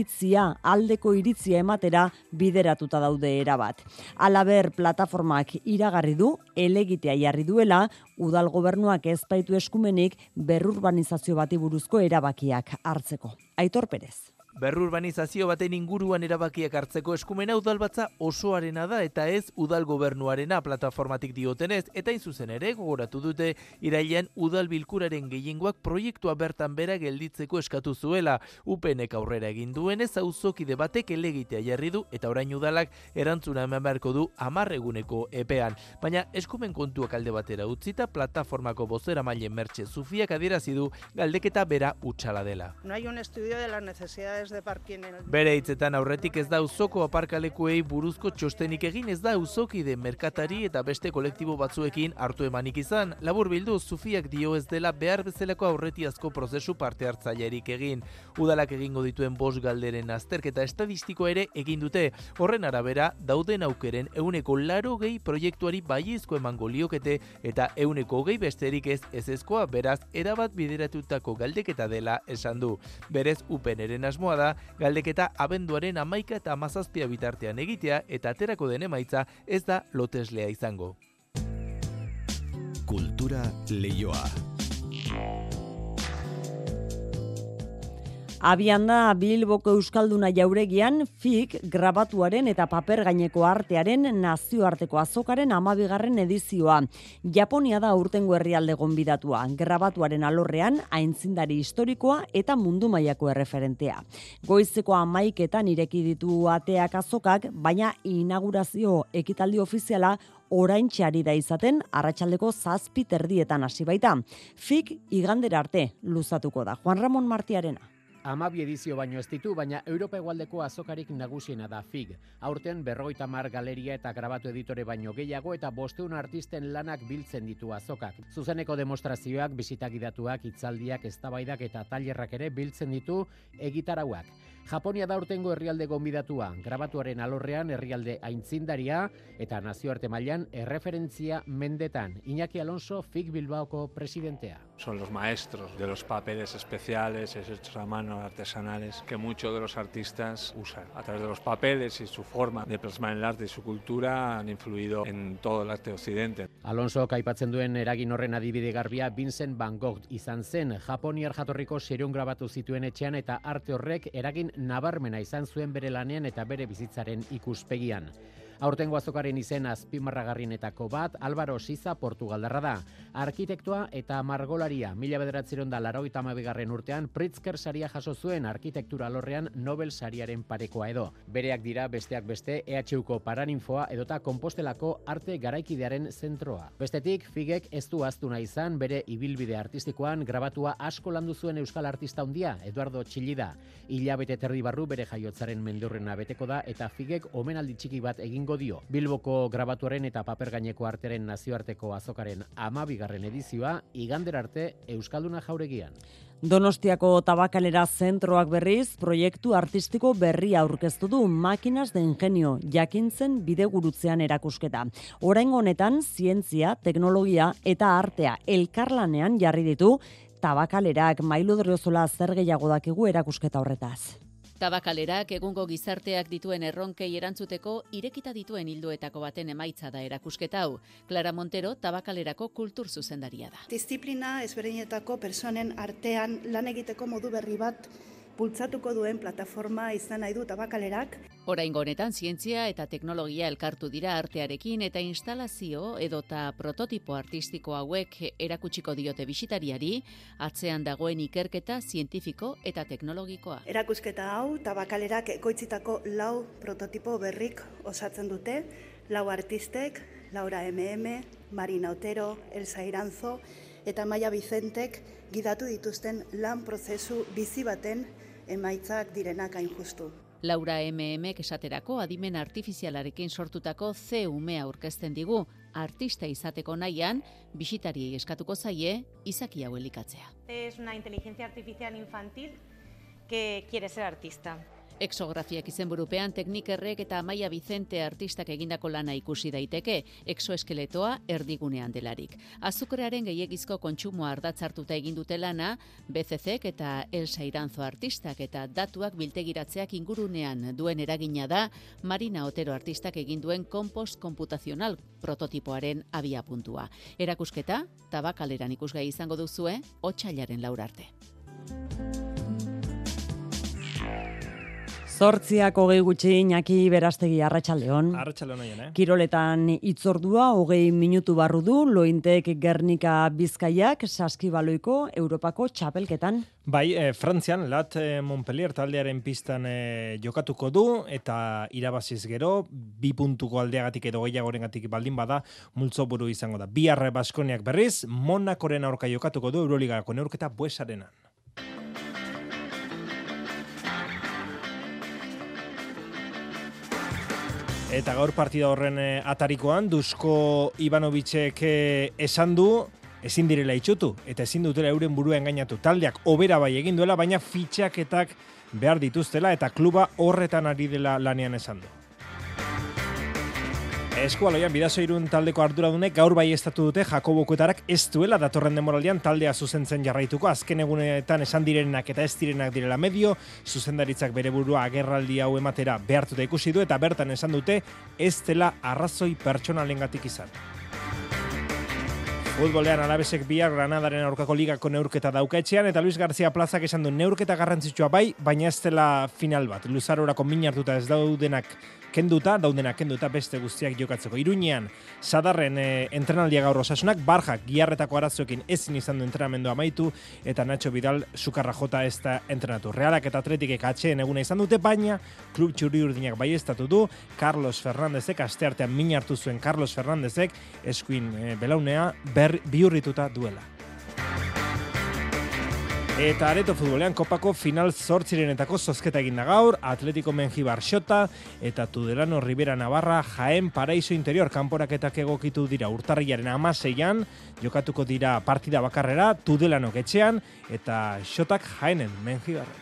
aldeko iritzia ematera bideratuta daude erabat. Halaber, plataformak iragarri du, elegitea jarri duela, udal gobernuak ez baitu eskumenik berrurbanizazio bati buruzko erabakiak hartzeko. Aitor Perez. Berrurbanizazio baten inguruan erabakiak hartzeko eskumena udalbatza osoarena da eta ez udal gobernuarena plataformatik diotenez, eta zuzen ere gogoratu dute irailean udal bilkuraren gehiengoak proiektua bertan bera gelditzeko eskatu zuela. UPNek aurrera egin duenez auzokide batek elegitea jarri du eta orain udalak erantzuna eman beharko du 10 eguneko epean. Baina eskumen kontuak alde batera utzita plataformako bozeramaile Mertxe Zufiak adierazi du galdeketa bera hutsala dela. No hay un estudio de las necesidades de parking en el... Bere hitzetan aurretik ez da auzoko aparkalekuei buruzko txostenik egin, ez da auzokide merkatari eta beste kolektibo batzuekin hartu emanik izan. Laburbildu, Zufiak dio ez dela behar bezalako aurretiazko prozesu parte hartzailerik egin. Udalak egingo dituen 5 galderen azterketa estadistiko ere egin dute. Horren arabera, dauden aukeren 80% proiektuari baiezko emango liokete eta 20% besterik ez ezezkoa, beraz, erabat bideratutako galdeketa dela esan du. Berez, UPNren asmoa da, galdeketa abenduaren 11 eta 17 bitartean egitea eta aterako den emaitza ez da loteslea izango. Kultura Leioa. Abian da Bilboko Euskalduna jauregian FIG grabatuaren eta paper gaineko artearen nazioarteko azokaren 12. edizioa. Japonia da aurtengo herrialde gonbidatua. Grabatuaren alorrean aintzindari historikoa eta mundu mailako erreferentea. Goizeko 11etan ireki ditu ateak azokak, baina inaugurazio ekitaldi ofiziala oraintxe ari da izaten arratsaldeko 7:30 hasi baita. FIG igandera arte luzatuko da. Juan Ramon Martiarena. 12 edizio baino ez ditu, baina Europa hegoaldeko azokarik nagusiena da FIG. Aurten 50 galeria eta grabatu editore baino gehiago eta 500 artisten lanak biltzen ditu azokak. Zuzeneko demostrazioak, bisita gidatuak, hitzaldiak, eztabaidak eta tailerrak ere biltzen ditu egitarauak. Japonia da aurtengo herrialde gonbidatua, grabatuaren alorrean herrialde aintzindaria eta nazioarte mailan erreferentzia mendetan. Iñaki Alonso, FIG Bilbaoko presidentea. Son los maestros de los papeles especiales, hechos a mano, artesanales, que muchos de los artistas usan. A través de los papeles y su forma de plasmar el arte y su cultura han influido en todo el arte occidente. Alonso aipatzen duen eragin horren adibide garbia Vincent van Gogh izan zen. Japoniar jatorriko seiehun grabatu zituen etxean eta arte horrek eragin nabarmena izan zuen bere lanean eta bere bizitzaren ikuspegian. Aurtengo azokaren izen azpimarragarrienetako bat Álvaro Siza Portugaldarra da. Arkitektua eta margolaria 1982 urtean Pritzker saria jaso zuen arkitektura alorrean Nobel sariaren parekoa edo. Bereak dira besteak beste EHUko Paraninfoa edota Konpostelako arte garaikidearen zentroa. Bestetik, FIGek ez du ahaztu nahi izan bere ibilbide artistikoan grabatua asko landu zuen euskal artista handia Eduardo Txillida. Hilabete terdi barru bere jaiotzaren mendurrena beteko da eta FIGek omenaldi txiki bat egin dio. Bilboko grabatuaren eta paper gaineko arteren nazioarteko azokaren 12. edizioa igandera arte Euskalduna jauregian. Donostiako Tabakalera zentroak berriz proiektu artistiko berria aurkeztu du Máquinas de Ingenio jakintzen bidegurutzean erakusketa. Oraingo honetan zientzia, teknologia eta artea elkarlanean jarri ditu Tabakalerak. Mailu Driozola zer gehiago dakigu erakusketa horretaz. Tabakalerak egungo gizarteak dituen erronkei erantzuteko irekita dituen ildoetako baten emaitza da erakusketa hau. Clara Montero Tabakalerako kultur zuzendaria da. Disiplina ezberdinetako personen artean lan egiteko modu berri bat bultzatuko duen plataforma izan nahi du Tabakalerak. Oraingo honetan zientzia eta teknologia elkartu dira artearekin eta instalazio edota prototipo artistiko hauek erakutsiko diote bisitariari, atzean dagoen ikerketa zientifiko eta teknologikoa. Erakusketa hau Tabakalerak ekoitzitako 4 prototipo berrik osatzen dute, 4 artistek, Laura MM, Marina Otero, Elsa Iranzo eta Maia Vicentek gidatu dituzten lan prozesu bizi baten emaitzak direnak hain justu. Laura MM esaterako adimen artifizialarekin sortutako C-umea aurkezten digu, artista izateko nahian, bisitariei eskatuko zaie izaki hau elikatzea. Es una inteligencia artificial infantil que quiere ser artista. Exografiak izenburupean Teknikerrek eta Maia Vicente artistak egindako lana ikusi daiteke, exoeskeletoa erdigunean delarik. Azukrearen gehiegizko kontsumoa ardatzartuta egin dute lana, BCCek eta Elsa Iranzo artistak eta datuak biltegiratzeak ingurunean duen eragina da, Marina Otero artistak egin duen kompost komputazional prototipoaren abiapuntua. Erakusketa, Tabakaleran ikusgai izango duzue, otsailaren 4 arte. 8:20 gutxi, Iñaki Berastegi, arratsaldeon. Arratsaldeon haien, Kiroletan itzordua 20 minutu barru du, Lointek Gernika Bizkaiak saskibaloiko Europako txapelketan. Bai, Frantzian, Lat Montpellier taldearen pistan jokatuko du, eta irabaziz gero, 2 puntuko aldeagatik edo gehiagorengatik baldin bada, multzoburu izango da. Bihar Baskoniak berriz, Monakoren aurka jokatuko du Euroligako neurketa Buesarenan. Eta gaur partida horren atarikoan, Dusko Ivanovicek esan du, ezin direla itxutu, eta ezin dutela euren burua engainatu. Taldeak hobera bai egin duela, baina fitxaketak behar dituztela, eta kluba horretan ari dela lanean esan du. Eskualoian, Bidasoirun taldeko arduradunek gaur bai estatu dute Jakobo Kuetarak ez duela datorren denboraldian taldea zuzentzen jarraituko. Azken egunetan esan direnak eta ez direnak direla medio, zuzendaritzak bere burua agerraldi hau ematera behartuta ikusi du, eta bertan esan dute ez dela arrazoi pertsonalengatik izan. Futbolean Alavesek bihar Granadaren aurkako ligako neurketa dauka etxean, eta Luis García Plazak esan du neurketa garrantzitsua bai, baina ez dela final bat. Luzarorako min hartuta ez daudenak kenduta beste guztiak jokatzeko. Iruñean, Sadarren entrenaldia gaur Osasunak, Barjak giarretako arazoekin ezin izan du entrenamendu amaitu, eta Nacho Vidal sukarra jota ez da entrenatu. Realak eta Atletikek atxeen eguna izan dute, baina klub txuri-urdinak baieztatu du, Carlos Fernandezek, asteartean min hartu zuen Carlos Fernandezek, eskuin belaunea bihurrituta duela. Eta areto futbolean kopako final 8renetako zozketa eginda gaur, Atletico Mengibar Xota eta Tudelano Ribera Navarra Jaén Paraiso Interior kanporaketak egokitu dira. Urtarrilaren 16an jokatuko dira partida bakarrera, Tudelanok etxean eta Xotak Jaénen Mengibarren.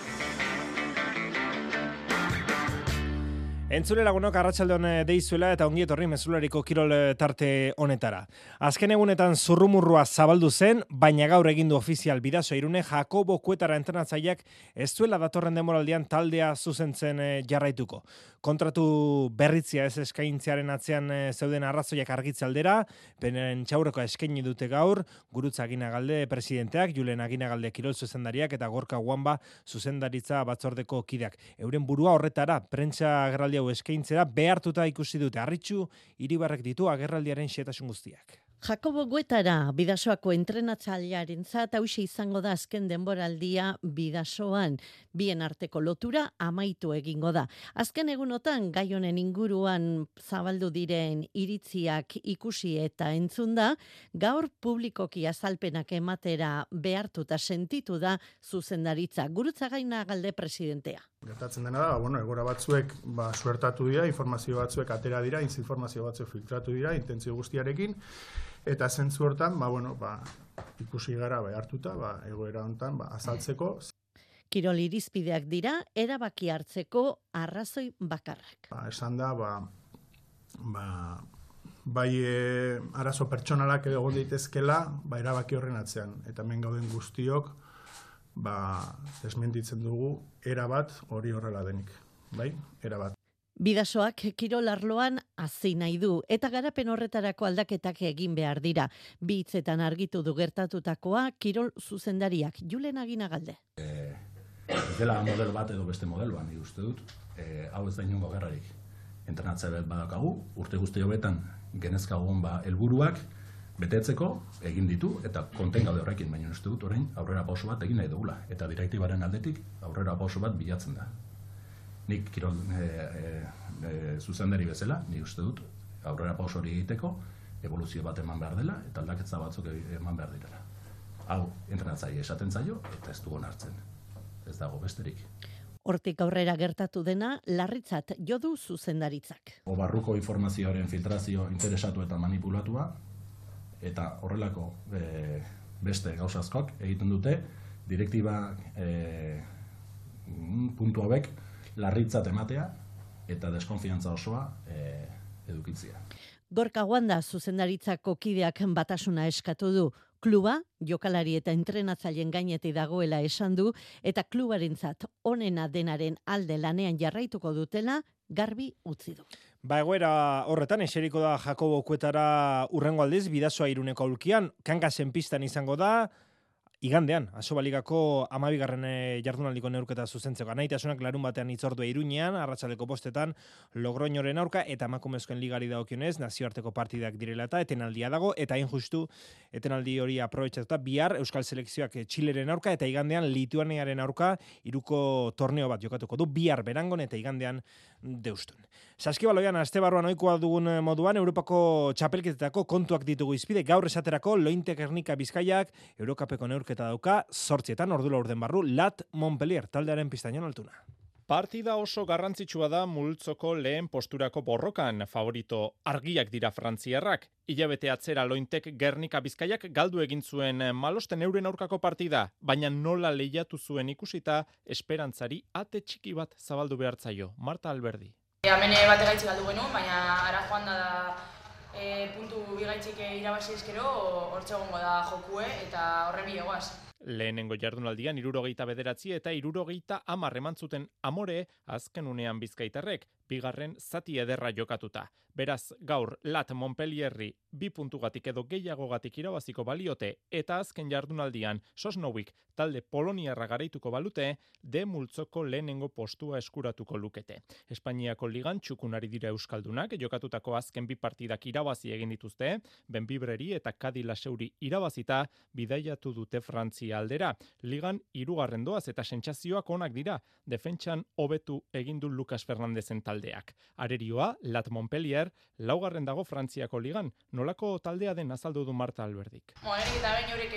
Entzule lagunok arratsaldeon deizuela eta ongi etorri mezulariko kirol tarte honetara. Azken egunetan zurrumurrua zabaldu zen, baina gaur egindu ofizial Bidasoirune Jakobo Kuetara entrenatzaileak ez duela datorren denboraldian taldea zuzentzen jarraituko. Kontratu berritzia ez eskaintzearen atzean zeuden arrazoiak argitze aldera, beren txaurreko eskaini dute gaur, Gurutza Aginagalde presidenteak, Julen Aginagalde kirol zuzendariak eta Gorka Guanba zuzendaritza batzordeko kideak. Euren burua horretara, prentsa agerraldia eskaintzera behartuta ikusi dute. Arritxu Iribarrek ditu agerraldiaren xehetasun guztiak. Jakobo Kuetara Bidasoako entrenatzailearentzat hauxe izango da azken denboraldia Bidasoan. Bien arteko lotura amaitu egingo da. Azken egunotan gai honen inguruan zabaldu diren iritziak ikusi eta entzun da, gaur publikoki azalpenak ematera behartuta sentitu da zuzendaritza. Gurutza Aginagalde presidentea. Gertatzen dena da, egora batzuek suertatu dira, informazio batzuek atera dira, informazio batzuek filtratu dira, intentzio guztiarekin, eta zentzu hortan, ikusi gara hartuta, egoera hontan azaltzeko. Kirol irizpideak dira, erabaki hartzeko arrazoi bakarrak. Esan da, bai arazo pertsonalak egon daitezkela, erabaki horren atzean, eta hemen gauden guztiok, desmentitzen dugu, erabat hori horrela denik, erabat. Bidasoak kirol arloan hazi nahi du, eta garapen horretarako aldaketak egin behar dira. Bi hitzetan argitu du gertatutakoa kirol zuzendariak, Julen Aginagalde. Ez dela modelo bat edo beste modeloan, nik uste dut, hau ez da inongo gerrarik. Entrenatzaile bat badakagu, urte guzti hobetan genezkagun helburuak betetzeko egin ditu eta konten gaude horrekin, baina uste dut orain aurrera pauso bat egin nahi dugula. Eta direktibaren aldetik aurrera pauso bat bilatzen da. Nik kirol zuzendari bezala, nik uste dut aurrera pauso hori egiteko evoluzio bat eman behar dela eta aldaketza batzuk eman behar direla. Hau entrenatzaile esaten zaio eta ez dugu onartzen. Ez dago besterik. Hortik aurrera gertatu dena, larritzat jo du zuzendaritzak. Barruko informazioaren filtrazio interesatu eta manipulatua, eta horrelako beste gauzazkoak egiten dute, direktiba puntu hauek larritzat ematea eta deskonfiantza osoa edukitzea. Gorka Guanda zuzendaritzako kideak batasuna eskatu du. Kluba, jokalari eta entrenatzaileen gainetik dagoela esan du, eta klubarentzat onena denaren alde lanean jarraituko dutela garbi utzi du. Egoera horretan eseriko da Jakobo Kuetara urrengo aldiz Bidasoa Iruneko aulkian, Kangasen pistan izango da, igandean, Asobaligako 12. Jardunaldiko neurketa zuzentzeko. Anaitasunak larun batean hitzordua Iruñean, arratsaldeko 5:00 Logroñoren aurka eta emakumezkoen ligari dagokionez nazioarteko partidak direla eta etenaldia dago eta hain justu etenaldi hori aprobetxatuta bihar Euskal Selekzioak Txileren aurka eta igandean Lituaniaren aurka hiruko torneo bat jokatuko du bihar Berangon eta igandean Deustun. Saskibaloian astebarruan ohikoa dugun moduan Europako txapelketetako kontuak ditugu izpide gaur esaterako Lointe Gernika Bizkaiak Eurokapeko neurketa dauka 8:00 ordula urden barru Lat Montpellier taldearen pistainon altuna. Partida oso garrantzitsua da multzoko lehen posturako borrokan, favorito argiak dira frantziarrak. Hilabete atzera Lointek Gernika Bizkaiak galdu egin zuen Malosten euren aurkako partida, baina nola lehiatu zuen ikusita esperantzari ate txiki bat zabaldu behartzaio. Marta Alberdi. Hemen bate gaitzi galdu genuen, baina ara joan da puntu bigaitzik irabazi ezkero, hortxe egongo da jokue eta horren bidegoaz. Lehenengo jardunaldian 69 eta 70 eman zuten Amore azken unean bizkaitarrek, bigarren zati ederra jokatuta. Beraz, gaur Lat Montpellierri 2 puntugatik edo gehiagogatik irabaziko baliote eta azken jardunaldian Sosnowik talde poloniarra garaituko balute, de multzoko lehenengo postua eskuratuko lukete. Espainiako ligan txukunari dira euskaldunak, jokatutako azken 2 partidak irabazi egin dituzte, Benbibreri eta Kadi Laseuri irabazita bidaiatu dute Frantzia aldera. Ligan 3. doaz eta sentsazioak onak dira, defentsan hobetu egin du Lucas Fernandezen taldeak. Arerioa, Lat Montpellier, 4. dago Frantziako ligan. Nolako taldea den azaldu du Marta Alberdik. Erik eta behin horiek,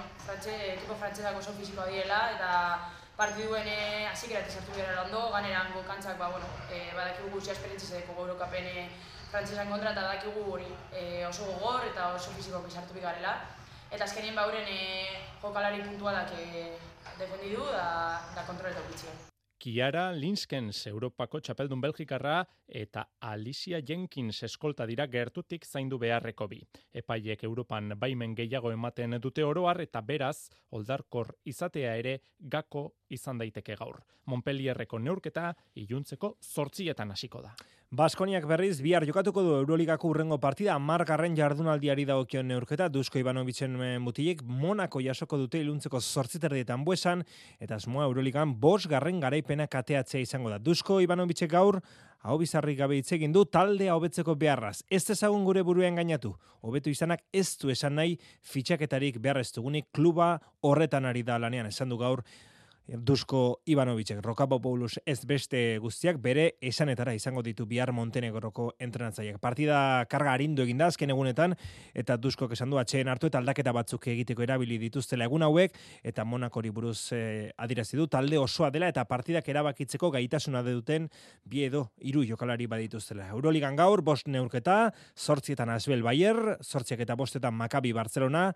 ekipo frantzesako oso fizikoa direla, eta partiduen hasierak sartu gara ondo, ganerango kantzak, badakigu guztia esperientzizeko Eurokapen frantzesan kontra, eta badakigu hori oso gogor eta oso fizikoak sartu bigarela. Eta azkenien bauren jokalari puntualak defendidu da kontroleta ukitzien. Kiara Linskens, Europako txapeldun Belgikarra, eta Alicia Jenkins eskolta dira gertutik zaindu beharreko bi. Epaiek Europan baimen gehiago ematen dute oroar eta beraz, oldarkor izatea ere gako izan daiteke gaur. Montpellierreko neurketa iluntzeko 8:00 hasiko da. Baskoniak berriz bihar jokatuko du Euroligako urrengo partida 10. jardunaldiari dagokion neurketa Dusko Ivanovicen mutilek Monako jasoko dute iluntzeko 8:30 Buesan eta asmoa Euroligan 5. garaipena kateatzea izango da. Dusko Ivanovicek gaur hau bizarrik gabe hitz egin du taldea hobetzeko beharraz. Ez dezagun gure buruan gainatu. Hobetu izanak ez du esan nahi fitxaketarik behar ez dugunik kluba horretan ari da lanean esan du gaur Dusko Ivanovicek. Rokapopoulos ez beste guztiak bere esanetara izango ditu bihar Montenegroko entrenatzaileak. Partida karga arindu egin da azken egunetan eta Duskok esan du atxeen hartu eta aldaketa batzuk egiteko erabili dituztela egun hauek eta Monakori buruz adirazi du talde osoa dela eta partidak erabakitzeko gaitasuna duten 2 edo 3 jokalari badituztela. Euroligan gaur 5 neurketa, 8:00 Asbel Bayer, 8:05 Maccabi Barcelona,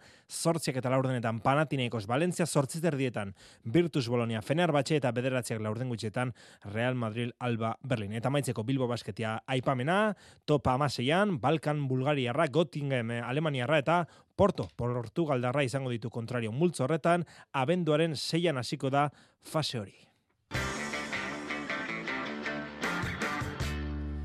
8:04 Panathinaikos Valencia, 8:30 Virtus Bolonia Fenerbahce eta 9:00 Real Madrid Alba Berlin. Eta maitzeko Bilbo Basketia aipamena, top 16an Balkan Bulgariarra, Göttingen Alemaniarra eta Portugaldarra izango ditu kontrario multzo horretan, abenduaren 6an hasiko da fase hori.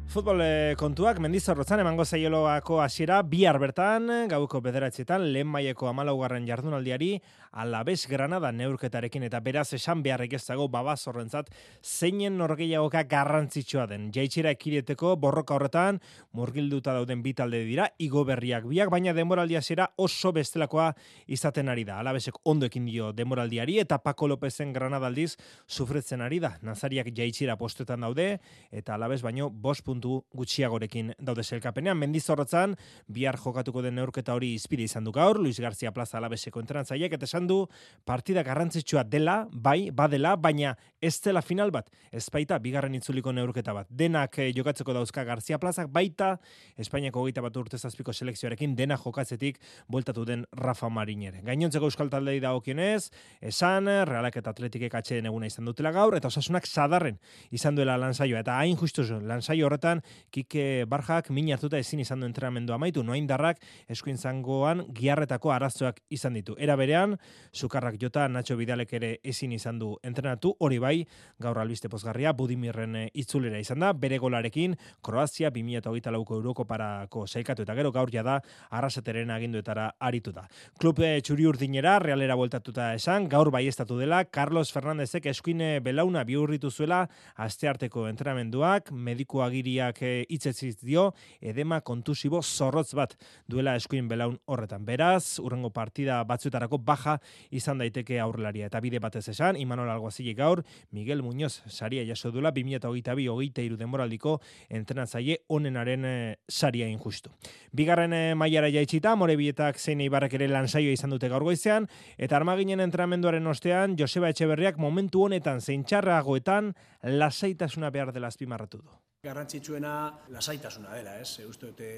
Futbol kontuak Mendizorrotzan emango zaioloako hasiera bihar bertan, gauko 9:00 lehen mailako 14. jardunaldiari Alavés Granada neurketarekin eta beraz esan beharrik ez dago Babazorrentzat zeinen norgehiagoka garrantzitsua den. Jaitsiera ekideteko borroka horretan murgilduta dauden bi talde dira, igo berriak biak, baina denboraldi hasiera oso bestelakoa izaten ari da. Alavesek ondo ekin dio denboraldiari eta Paco Lópezen Granada aldiz sufritzen ari da. Nazariak jaitsiera postuetan daude eta Alaves baino 5 puntu gutxiagorekin daude sailkapenean. Mendizorrotzan bihar jokatuko den neurketa hori izpide izan du gaur Luis García Plaza Alaveseko entrenatzaileak eta esan du partida garrantzitsua dela, bai, badela, baina ez dela final bat, ez baita bigarren itzuliko neurketa bat. Denak jokatzeko dauzka García Plazak, baita Espainiako 21 urte zazpiko selekzioarekin dena jokatzetik bueltatu den Rafa Marin ere. Gainontzeko euskal taldei dagokionez, esan Realak eta Atletikek atxeden eguna izan dutela gaur eta Osasunak sadarren izan duela lansaioa eta hain justuz lansaio horretan Kike Barjak min hartuta ezin izan du entrenamendu amaitu, Noaindarrak eskuin zangoan giarretako arazoak izan ditu. Era berean, Sukarrak jota Nacho Vidalek ere ezin izan du entrenatu, hori bai, gaur albiste pozgarria Budimirren itzulera izan da, bere golarekin Kroazia 2024ko Eurokoparako sailkatu eta gero gaur jada Arrasateren aginduetara aritu da. Klub txuri-urdinera Realera bueltatuta esan, gaur baieztatu dela Carlos Fernándezek eskuin belauna bihurritu zuela astearteko entrenamenduak, mediku agiriak hitzetziz dio, edema kontusibo zorrotz bat duela eskuin belaun horretan. Beraz, urrengo partida batzuetarako baja izan daiteke aurrelaria. Eta bide batez esan, Imanol Alguazilik gaur, Miguel Muñoz saria jaso duela 2022-23 denboraldiko entrenatzaile onenaren saria injustu. Bigarren mailara jaitsita, Morebietak zein Eibarrek ere lansaioa izan dute gaur goizean, eta Armaginen entrenamenduaren ostean, Joseba Etxeberriak momentu honetan zein txarragoetan lasaitasuna behar dela azpimarratu du. Garrantzitsuena lasaitasuna dela, ez? Uste dute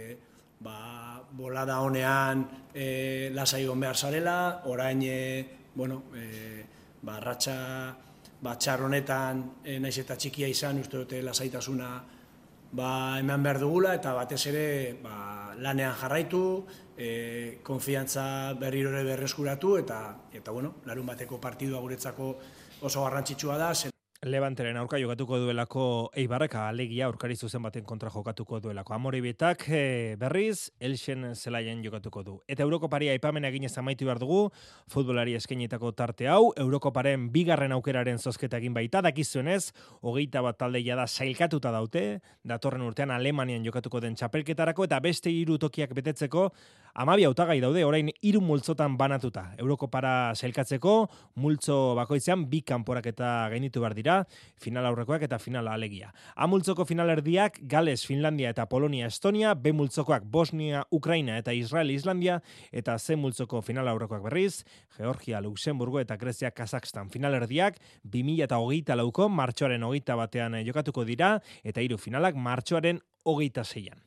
bolada honean lasai egon behar zarela, orain ratxa txar honetan naiz eta txikia izan, uste dute lasaitasuna eman behar dugula eta batez ere lanean jarraitu, konfiantza berriro ere berreskuratu eta larun bateko partidua guretzako oso garrantzitsua da. Levanteren aurka jokatuko duelako Eibarrek alegia aurkari zuzen baten kontra jokatuko duelako. Amorebietak berriz Elxen zelaien jokatuko du. Eta Eurokoparia aipamen eginez amaitu behar dugu, futbolari eskainitako tarte hau, Eurokoparen bigarren aukeraren zozketa egin baita, dakizuenez, 21 taldeia da sailkatuta daute, datorren urtean Alemanian jokatuko den txapelketarako, eta beste 3 tokiak betetzeko 12 hautagai daude, orain 3 multzotan banatuta. Eurokopara sailkatzeko, multzo bakoitzean 2 kanporaketa gainitu behar dira, final aurrekoak eta final alegia. A multzoko finalerdiak Gales, Finlandia eta Polonia, Estonia, B multzokoak Bosnia, Ukraina eta Israel, Islandia, eta C multzoko final aurrekoak berriz, Georgia, Luxemburgo eta Grezia, Kazakstan. Finalerdiak 2024ko martxoaren 21 jokatuko dira, eta 3 finalak martxoaren 26an.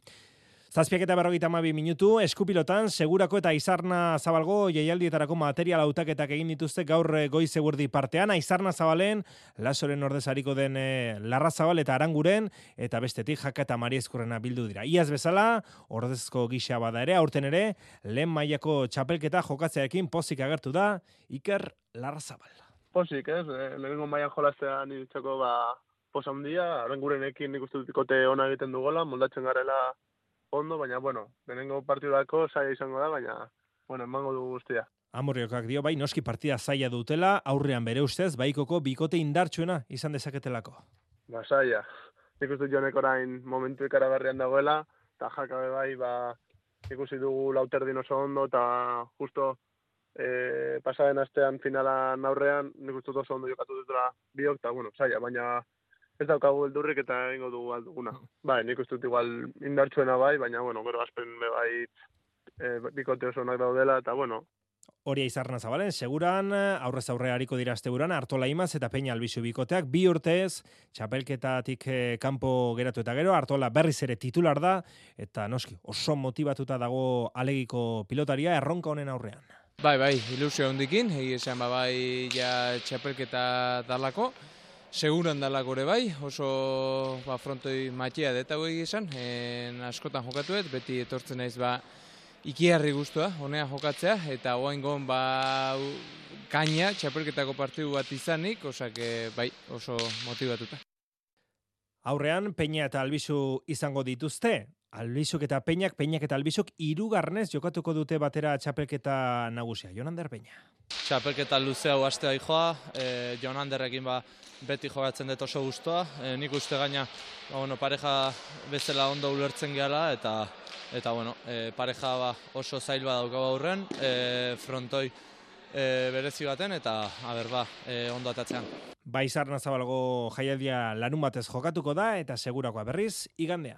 7:42 minutu, eskupilotan, Segurako eta Aizarna Zabalgo jaialdietarako material hautaketak egin dituzte gaur goiz eguerdi partean. Aizarna Zabalen, Lasoren ordezariko den Larrazabal eta Aranguren, eta bestetik Jaka eta Mariezkurrena bildu dira. Iaz bezala, ordezko gisa bada ere, aurten ere, lehen mailako txapelketa jokatzearekin pozik agertu da, Iker Larrazabal. Pozik, ez? Lehenengo mailan jolaztean niretzako posa handia, Arangurenekin nik uste dutikote ona egiten dugola, moldatzen garela ondo, baina, lehenengo partidurako zaila izango da, baina, emango dugu guztia. Amorriokak dio, bai, noski partida zaila dutela, aurrean bere ustez, baikoko bikote indartsuena izan dezaketelako. Zaila. Nik uste jonek orain momentu ikaragarrian dagoela, eta Jakabe bai, ikusi dugu Lauterdin oso ondo, eta justo pasaden astean finalan aurrean, nik uste oso ondo jokatu dutela biok, eta, zaila, baina ez daukagu beldurrik eta egingo dugu alduguna. Bai, nik uste dut igual indartsuena bai, baina, gero azpen bikote oso onak daudela, eta, Hori Aizarna Zabalen, seguran, aurrez aurre hariko dira asteburuan, Artola Imaz eta Peña Albizu bikoteak, 2 urtez, txapelketatik kanpo geratu eta gero, Artola berriz ere titular da, eta noski, oso motivatuta dago alegiko pilotaria, erronka honen aurrean. Bai, ilusio hondikin, esan ja txapelketa dalako, seguran dalako ere bai, oso frontoi matia deta hori esan, askotan jokatuet, beti etortzen naiz ikiarri guztua, honea jokatzea, eta oaingon kaina, txapelketako partidu bat izanik, osak bai, oso motivatuta. Aurrean, Peña eta Albizu izango dituzte. Albizuk eta Peñak eta Albizuk hirugarrenez jokatuko dute batera txapelketa nagusia. Jon Ander Peña. Txapelketa luze hau astea joa, Jon Anderrekin beti jogatzen dut oso gustoa. Nik uste gaina pareja bezala ondo ulertzen gehala eta pareja oso zail badaukagu aurren, frontoi berezi baten eta ondo atatzean. Baizar Nazabalago jaialdia larun batez jokatuko da eta segurakoa berriz igandean.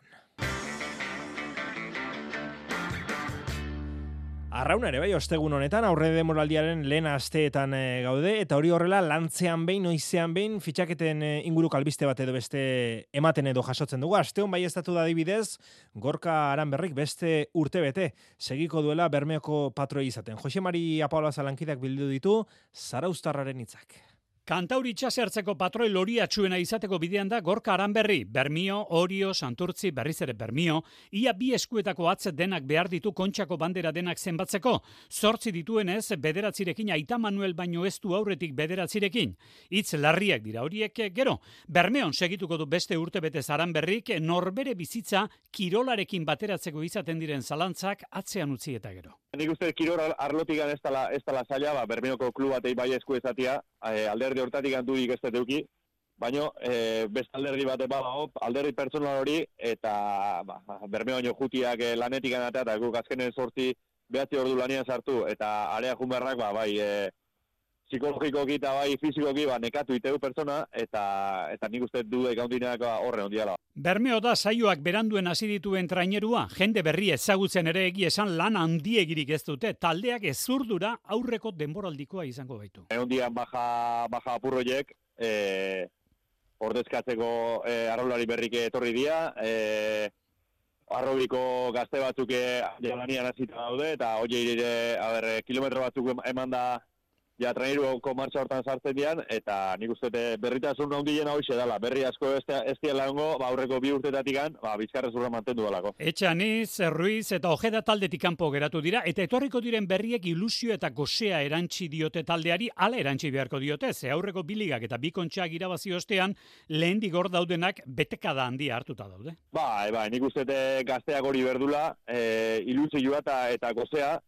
Arrauna ere bai, ostegun honetan, aurre demoraldiaren lehen asteetan gaude, eta hori horrela lantzean behin, noizean behin, fitxaketen inguruk albiste bat edo beste ematen edo jasotzen dugu. Asteon bai estatu da adibidez, Gorka Aranberrik beste urte bete, segiko duela Bermeoko patroi izaten. Jose Mari Apaolaza lankideak bildu ditu, Zarauztarraren hitzak. Kantauri itxasertzeko patroi loriatsuena izateko bidean da Gorka Aranberri, Bermio, Orio, Santurtzi, berriz ere Bermio, ia bi eskuetako atze denak behar ditu Kontxako bandera denak zenbatzeko. 8 dituenez, 9rekin Aita Manuel baino ez du aurretik 9rekin. Hitz larriak dira horiek gero. Bermeon segituko du beste urtebete Aranberrik, norbere bizitza kirolarekin bateratzeko izaten diren zalantzak atzean utzi eta gero. Nik uste kirol arlotik ez dela zaila, Bermeoko klub batei bai esku ezatia, alderdi hortatik dudik ez deuki, baina beste alderdi bate badago, alderdi pertsonal hori, eta Bermeo baino jutiak lanetik anatea, eta guk azkenen 8-9 ordu lanian sartu, eta area junberrak psikologikoki eta bai fizikoki nekatu itegu pertsona, eta nik uste dudek handinak horre ondiala. Bermeo da saioak beranduen hasi dituen trainerua, jende berri ezagutzen ere egia esan lan handiegirik ez dute, taldeak ezurdura aurreko denboraldikoa izango baitu. Ondian baja apurroiek, ordezkatzeko arraulari berrik etorri dira, arrobiko gazte batzuk lanian hasita daude, eta hori kilometro batzuk eman da ja traineruko martxa hortan sartzen dian, eta nik uste berritasun handiena hoxe dela. Berri asko ez diela hongo, aurreko 2 urtetatik bizkarrezurra mantendu dalako. Etxaniz, Ruiz eta Ojeda taldetik kanpo geratu dira, eta etorriko diren berriek ilusio eta gozea erantzi diote taldeari, ala erantzi beharko diote, ze aurreko biligak eta 2 kontxak irabazi ostean, lehendik hor daudenak betekada handia hartuta daude. Nik uste gazteak hori berdula, ilusioa eta gozea,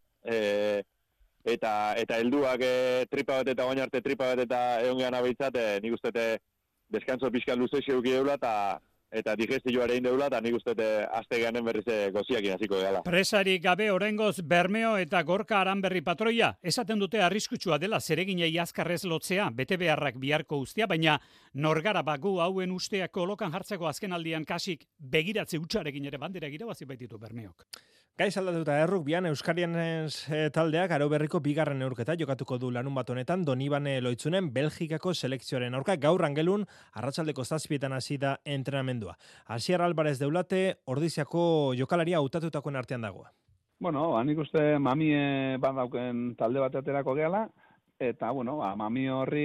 eta helduak tripa bat eta baina arte tripa bat eta egon gehan abeitzat, nik uste deskantzo pixka luze xeuki deula eta digestioa ere deula, eta nik uste aste ganen berriz goziakin hasiko dela. Presarik gabe oraingoz Bermeo eta Gorka Aranberri patroia, esaten dute arriskutsua dela zereginei azkarrez lotzea, bete beharrak biharko ustea, baina norgara bagu hauen usteak kolokan jartzeko azkenaldian kasik begiratze hutsarekin ere bandera irabazi baititu Bermeok. Gaiz aldatuta Rugbian Euskarian taldeak aro berriko 2. neurketa jokatuko du larun bat honetan Donibane Loitzunen Belgikako selekzioaren aurka gaur angelun arratsaldeko 7 hasi da entrenamendua. Asier Alvarez Deulate Ordiziako jokalaria hautatutakoen artean dago. Bueno, nik uste mami badauken talde bat aterako gehala, eta mami horri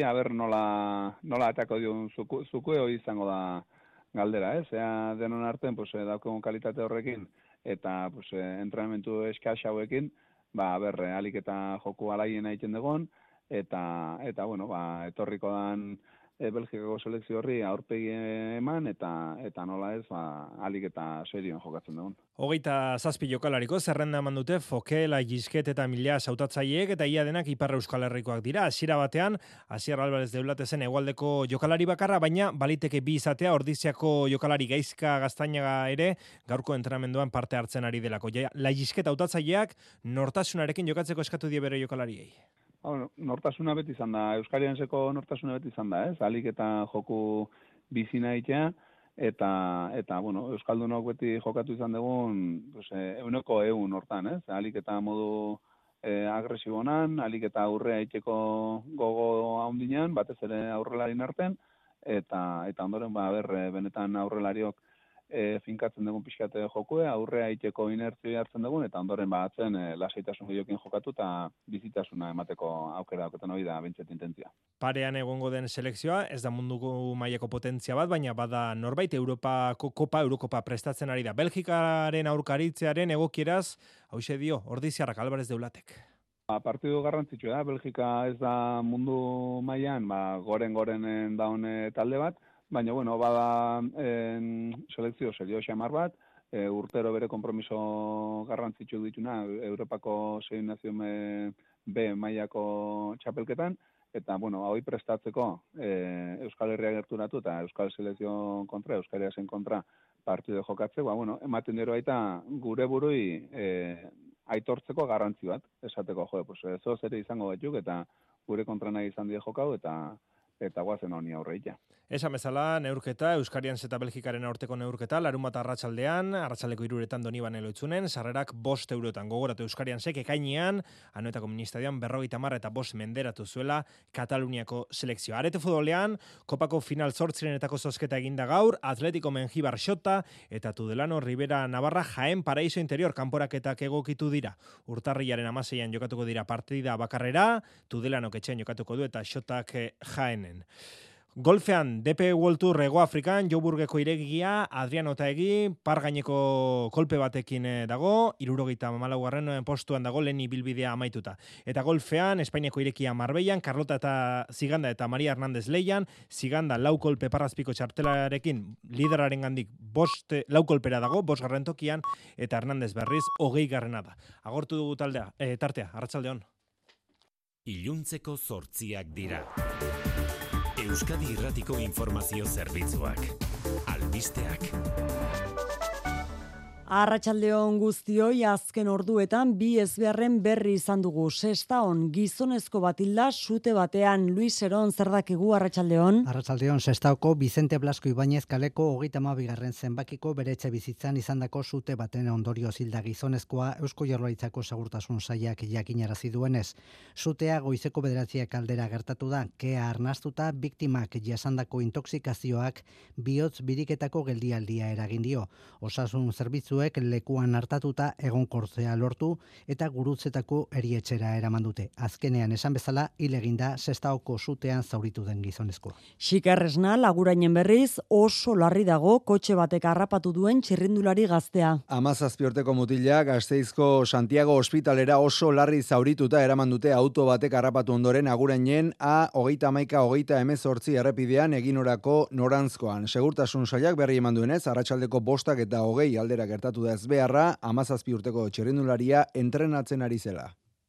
nola atako dion zukue izango da galdera, Ea denon artean daukagun kalitate horrekin eta entrenamentu eskaz hauekin, alik eta joku alaien egiten dugun, eta etorriko dan Belgikako selekzio horri aurpegi eman, eta nola ez, alik eta serioan jokatzen dugun. 27 jokalariko zerrenda eman dute Fokela, Gisket eta Mila hautatzaileek eta ia denak Ipar Euskal Herrikoak dira. Hasiera batean, Asier Alvarez Deulate zen hegoaldeko jokalari bakarra, baina baliteke 2 izatea Ordiziako jokalari Gaizka Gaztainaga ere gaurko entrenamenduan parte hartzen ari delako. La Gisket hautatzaileak nortasunarekin jokatzeko eskatu die bere jokalariei. Nortasuna beti izan da, Euskarianseko nortasuna beti izan da, alik eta joku bizina egitea, eta Euskaldunok beti jokatu izan dugun, 100% hortan, alik eta modu agresibonan, alik eta aurrea egiteko gogo handinean, batez ere aurrelarin arten, eta ondoren, benetan aurrelariok finkatzen dugun pixkate jokue, aurrea egiteko inertzioa hartzen dugun, eta ondoren atzen lasaitasun gehiokin jokatu eta bizitasuna emateko aukera dauketan hori da bentsat intentzia. Parean egongo den selekzioa, ez da munduko mailako potentzia bat, baina bada norbait Eurokopa prestatzen ari da. Belgikaren aurkaritzearen egokieraz, hauxe dio, Ordiziarrak Alvarez Deulatek. Partidu garrantzitsua da, Belgika ez da mundu mailan goren daun talde bat, baina, bueno, bada selekzio serio xamar bat, urtero bere konpromiso garrantzitsu dituna Europako 6 nazio B mailako txapelketan, eta, bueno, hau prestatzeko Euskal Herria gerturatu eta Euskal Selekzio kontra, Euskal Herriasen kontra partidu jokatze, bueno, ematen dira baita gure burui aitortzeko garrantzi bat, esateko, pues, zoz ere izango batzuk, eta gure kontra nahi izan die jokau, eta guazen honi aurreitea. Esan bezala, neurketa, Euskarian eta Belgikaren aurteko neurketa, larunbat arratsaldeko 3:00 Donibane Loitzunen, sarrerak 5 eurotan. Gogoratu Euskarian ekainean, Anoetako ministadian 50 eta 5 menderatu zuela Kataluniako selekzioa. Arete futbolean, Kopako final 8 zozketa eginda gaur, Atletico Mengibar Xota eta Tudelano Rivera Navarra Jaén Paraíso Interior kanporaketak egokitu dira. Urtarrilaren 16an jokatuko dira partida bakarrera, Tudelano etxean jokatuko du eta Xotak Jaénen. Golfean, DP World Tour Hego Afrikan, Joburgeko iregia, Adriano Otaegi, par gaineko kolpe batekin dago, 74. postuan dago, lehen ibilbidea amaituta. Eta golfean, Espainiako irekia Marbellan, Carlota eta Ziganda eta Maria Hernández Leian, Ziganda lau kolpe parrazpiko txartelarekin, lideraren gandik 4 kolpera dago, 5. tokian, eta Hernández berriz 20. da. Agortu dugu tartea, arratsaldeon. Iluntzeko 8 dira. Euskadi Irratiko Informazio Zerbitzuak. Albisteak. Arratsaldeon guztioi, azken orduetan 2 ezbeharren berri izan dugu. Sestaon gizonezko bat hilda sute batean. Luis Eron, zer dakigu arratsaldeon? Arratsaldeon, Sestaoko Vicente Blasco Ibáñez kaleko 32. zenbakiko bere etxe bizitzan izandako sute baten ondorioz hilda gizonezkoa Eusko Jaurlaritzako Segurtasun Sailak jakinarazi duenez. Sutea goizeko 9 aldera gertatu da, kea arnastuta biktimak jasandako intoxikazioak bihotz biriketako geldialdia eragin dio. Osasun zerbitzuek lekuan hartatuta egonkortzea lortu eta gurutzetako erietxera eraman dute. Azkenean esan bezala hil eginda Sestaoko sutean zauritu den gizonezkoa. Xikarresna lagurainen berriz oso larri dago kotxe batek harrapatu duen txirrindulari gaztea. 17 urteko mutila Gasteizko Santiago ospitalera oso larri zaurituta eraman dute auto batek harrapatu ondoren Agurainen A31-18 errepidean eginorako norantzkoan. Segurtasun sailak berri eman duenez, arratsaldeko 5 eta 20 aldera gertatu da ezbeharra, 17 urteko txirrindularia entrenatzen ari zela.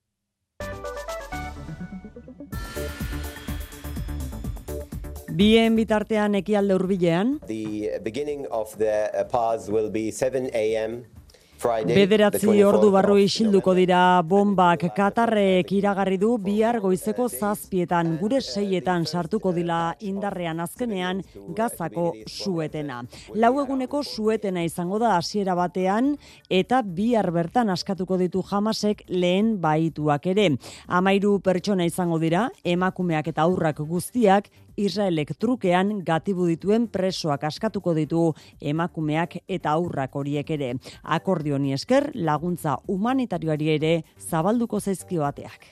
Bien bitartean ekialde hurbilean. The beginning of the pause will be 7 a.m. Bederatzi ordu barru isilduko dira bombak. Katarrek iragarri du bihar goizeko 7:00 gure 6:00 sartuko dila indarrean azkenean Gazako suetena. 4 eguneko suetena izango da hasiera batean eta bihar bertan askatuko ditu Hamasek lehen bahituak ere. 13 pertsona izango dira, emakumeak eta haurrak guztiak. Israelek trukean gatibu dituen presoak askatuko ditu emakumeak eta haurrak horiek ere. Akordio honi esker laguntza humanitarioari ere zabalduko zaizkio ateak.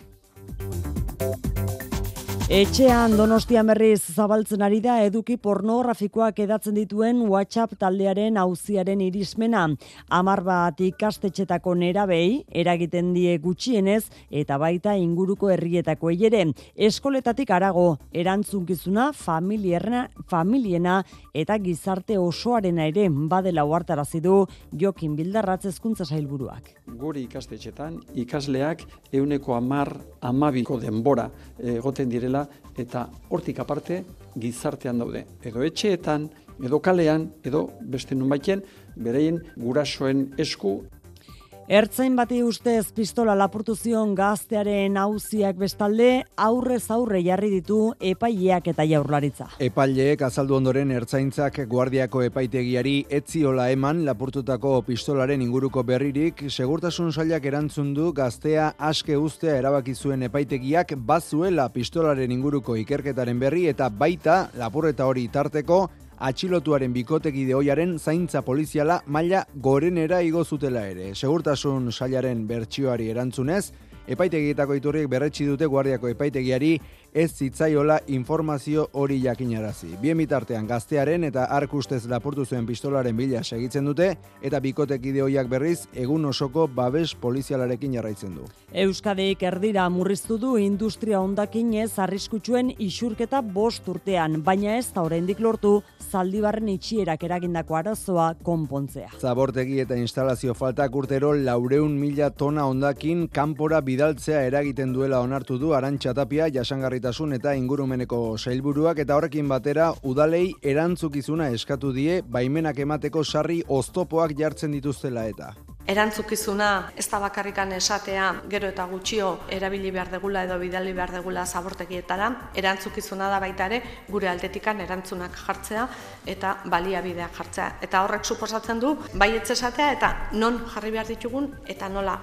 Etxean Donostian berriz zabaltzen ari da eduki pornografikoak edatzen dituen WhatsApp taldearen auziaren irismena. 10 bat ikastetxetako nerabei eragiten die gutxienez eta baita inguruko herrietakoei ere. Eskoletatik harago erantzunkizuna familiena eta gizarte osoarena ere badela ohartarazi du Jokin Bildarratz hezkuntza sailburuak. Guri ikastetxetan ikasleak 10-12 denbora egoten direla eta hortik aparte gizartean daude. Edo etxeetan, edo kalean, edo beste nunbaiten bereien gurasoen esku. Ertzain bati ustez pistola lapurtu zion gaztearen auziak bestalde aurrez aurre jarri ditu epaileak eta Jaurlaritza. Epaileek azaldu ondoren ertzaintzak guardiako epaitegiari etziola eman lapurtutako pistolaren inguruko berririk, segurtasun sailak erantzun du gaztea aske uztea erabaki zuen epaitegiak bazuela pistolaren inguruko ikerketaren berri eta baita lapurreta hori tarteko atxilotuaren bikotekide ohiaren zaintza poliziala maila gorenera igo zutela ere. Segurtasun sailaren bertsioari erantzunez, epaitegietako iturriek berretsi dute guardiako epaitegiari ez zitzaiola informazio hori jakinarazi. Bien bitartean gaztearen eta ark ustez lapurtu zuen pistolaren bila segitzen dute eta bikotekide hoiak berriz egun osoko babes polizialarekin jarraitzen du. Euskadik erdira murriztu du industria hondakinez arriskutsuen isurketa 5 urtean, baina ez da oraindik lortu Zaldibarren itxierak eragindako arazoa konpontzea. Zabortegi eta instalazio faltak urtero 400.000 tona hondakin kanpora bidaltzea eragiten duela onartu du Arantxa Tapia jasangarritasun eta ingurumeneko sailburuak eta horrekin batera udalei erantzukizuna eskatu die baimenak emateko sarri oztopoak jartzen dituztela eta. Erantzukizuna ez da bakarrikan esatea gero eta gutxio erabili behar degula edo bidali behar degula zabortegietara, erantzukizuna da baita ere gure aldetikan erantzunak jartzea eta baliabideak jartzea. Eta horrek suposatzen du baietz esatea eta non jarri behar ditugun eta nola.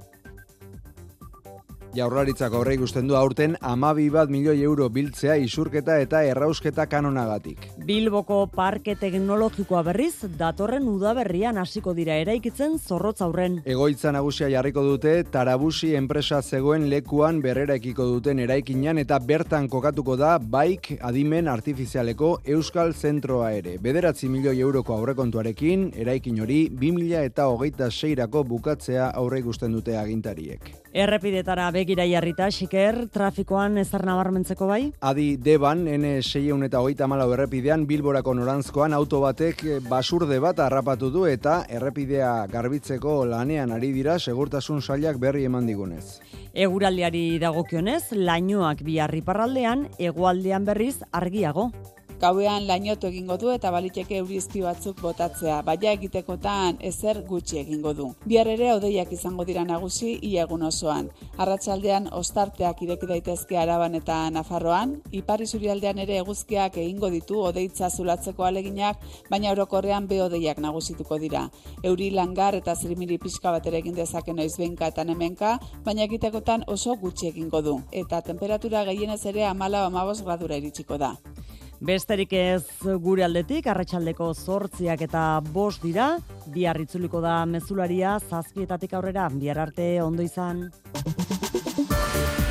Jaurlaritzak aurre ikusten du aurten 12 milioi euro biltzea isurketa eta errausketa kanonagatik. Bilboko parke teknologikoa berriz datorren udaberrian hasiko dira eraikitzen Zorrotz aurren. Egoitza nagusia jarriko dute Tarabusi enpresa zegoen lekuan berreraikiko duten eraikinan eta bertan kokatuko da Baik adimen artifizialeko Euskal Zentroa ere. 9 milioi euroko aurrekontuarekin eraikin hori 2026rako bukatzea aurre ikusten dute agintariek. Errepidetara begira jarrita, Xiker, trafikoan ezer nabarmentzeko bai? Adi Deban, N634 errepidean Bilborako norantzkoan auto batek basurde bat harrapatu du eta errepidea garbitzeko lanean ari dira segurtasun sailak berri eman digunez. Eguraldiari dagokionez, lainoak bihar iparraldean, hegoaldean berriz argiago. Gauean lainotu egingo du eta baliteke eurizpi batzuk botatzea, baina egitekotan ezer gutxi egingo du. Bihar ere hodeiak izango dira nagusi ia egun osoan. Arratsaldean ostarteak ireki daitezke Araban eta Nafarroan, ipar isurialdean ere eguzkiak egingo ditu hodeitza zulatzeko aleginak, baina orokorrean behodeiak nagusituko dira. Euri langar eta zirimiri pixka bat ere egin dezake noizbehinka eta hemenka, baina egitekotan oso gutxi egingo du. Eta temperatura gehienez ere 14-15 gradura iritsiko da. Besterik ez gure aldetik, arratsaldeko 8 eta 5 dira, bihar itzuliko da mezularia 7 aurrera, bihar arte ondo izan.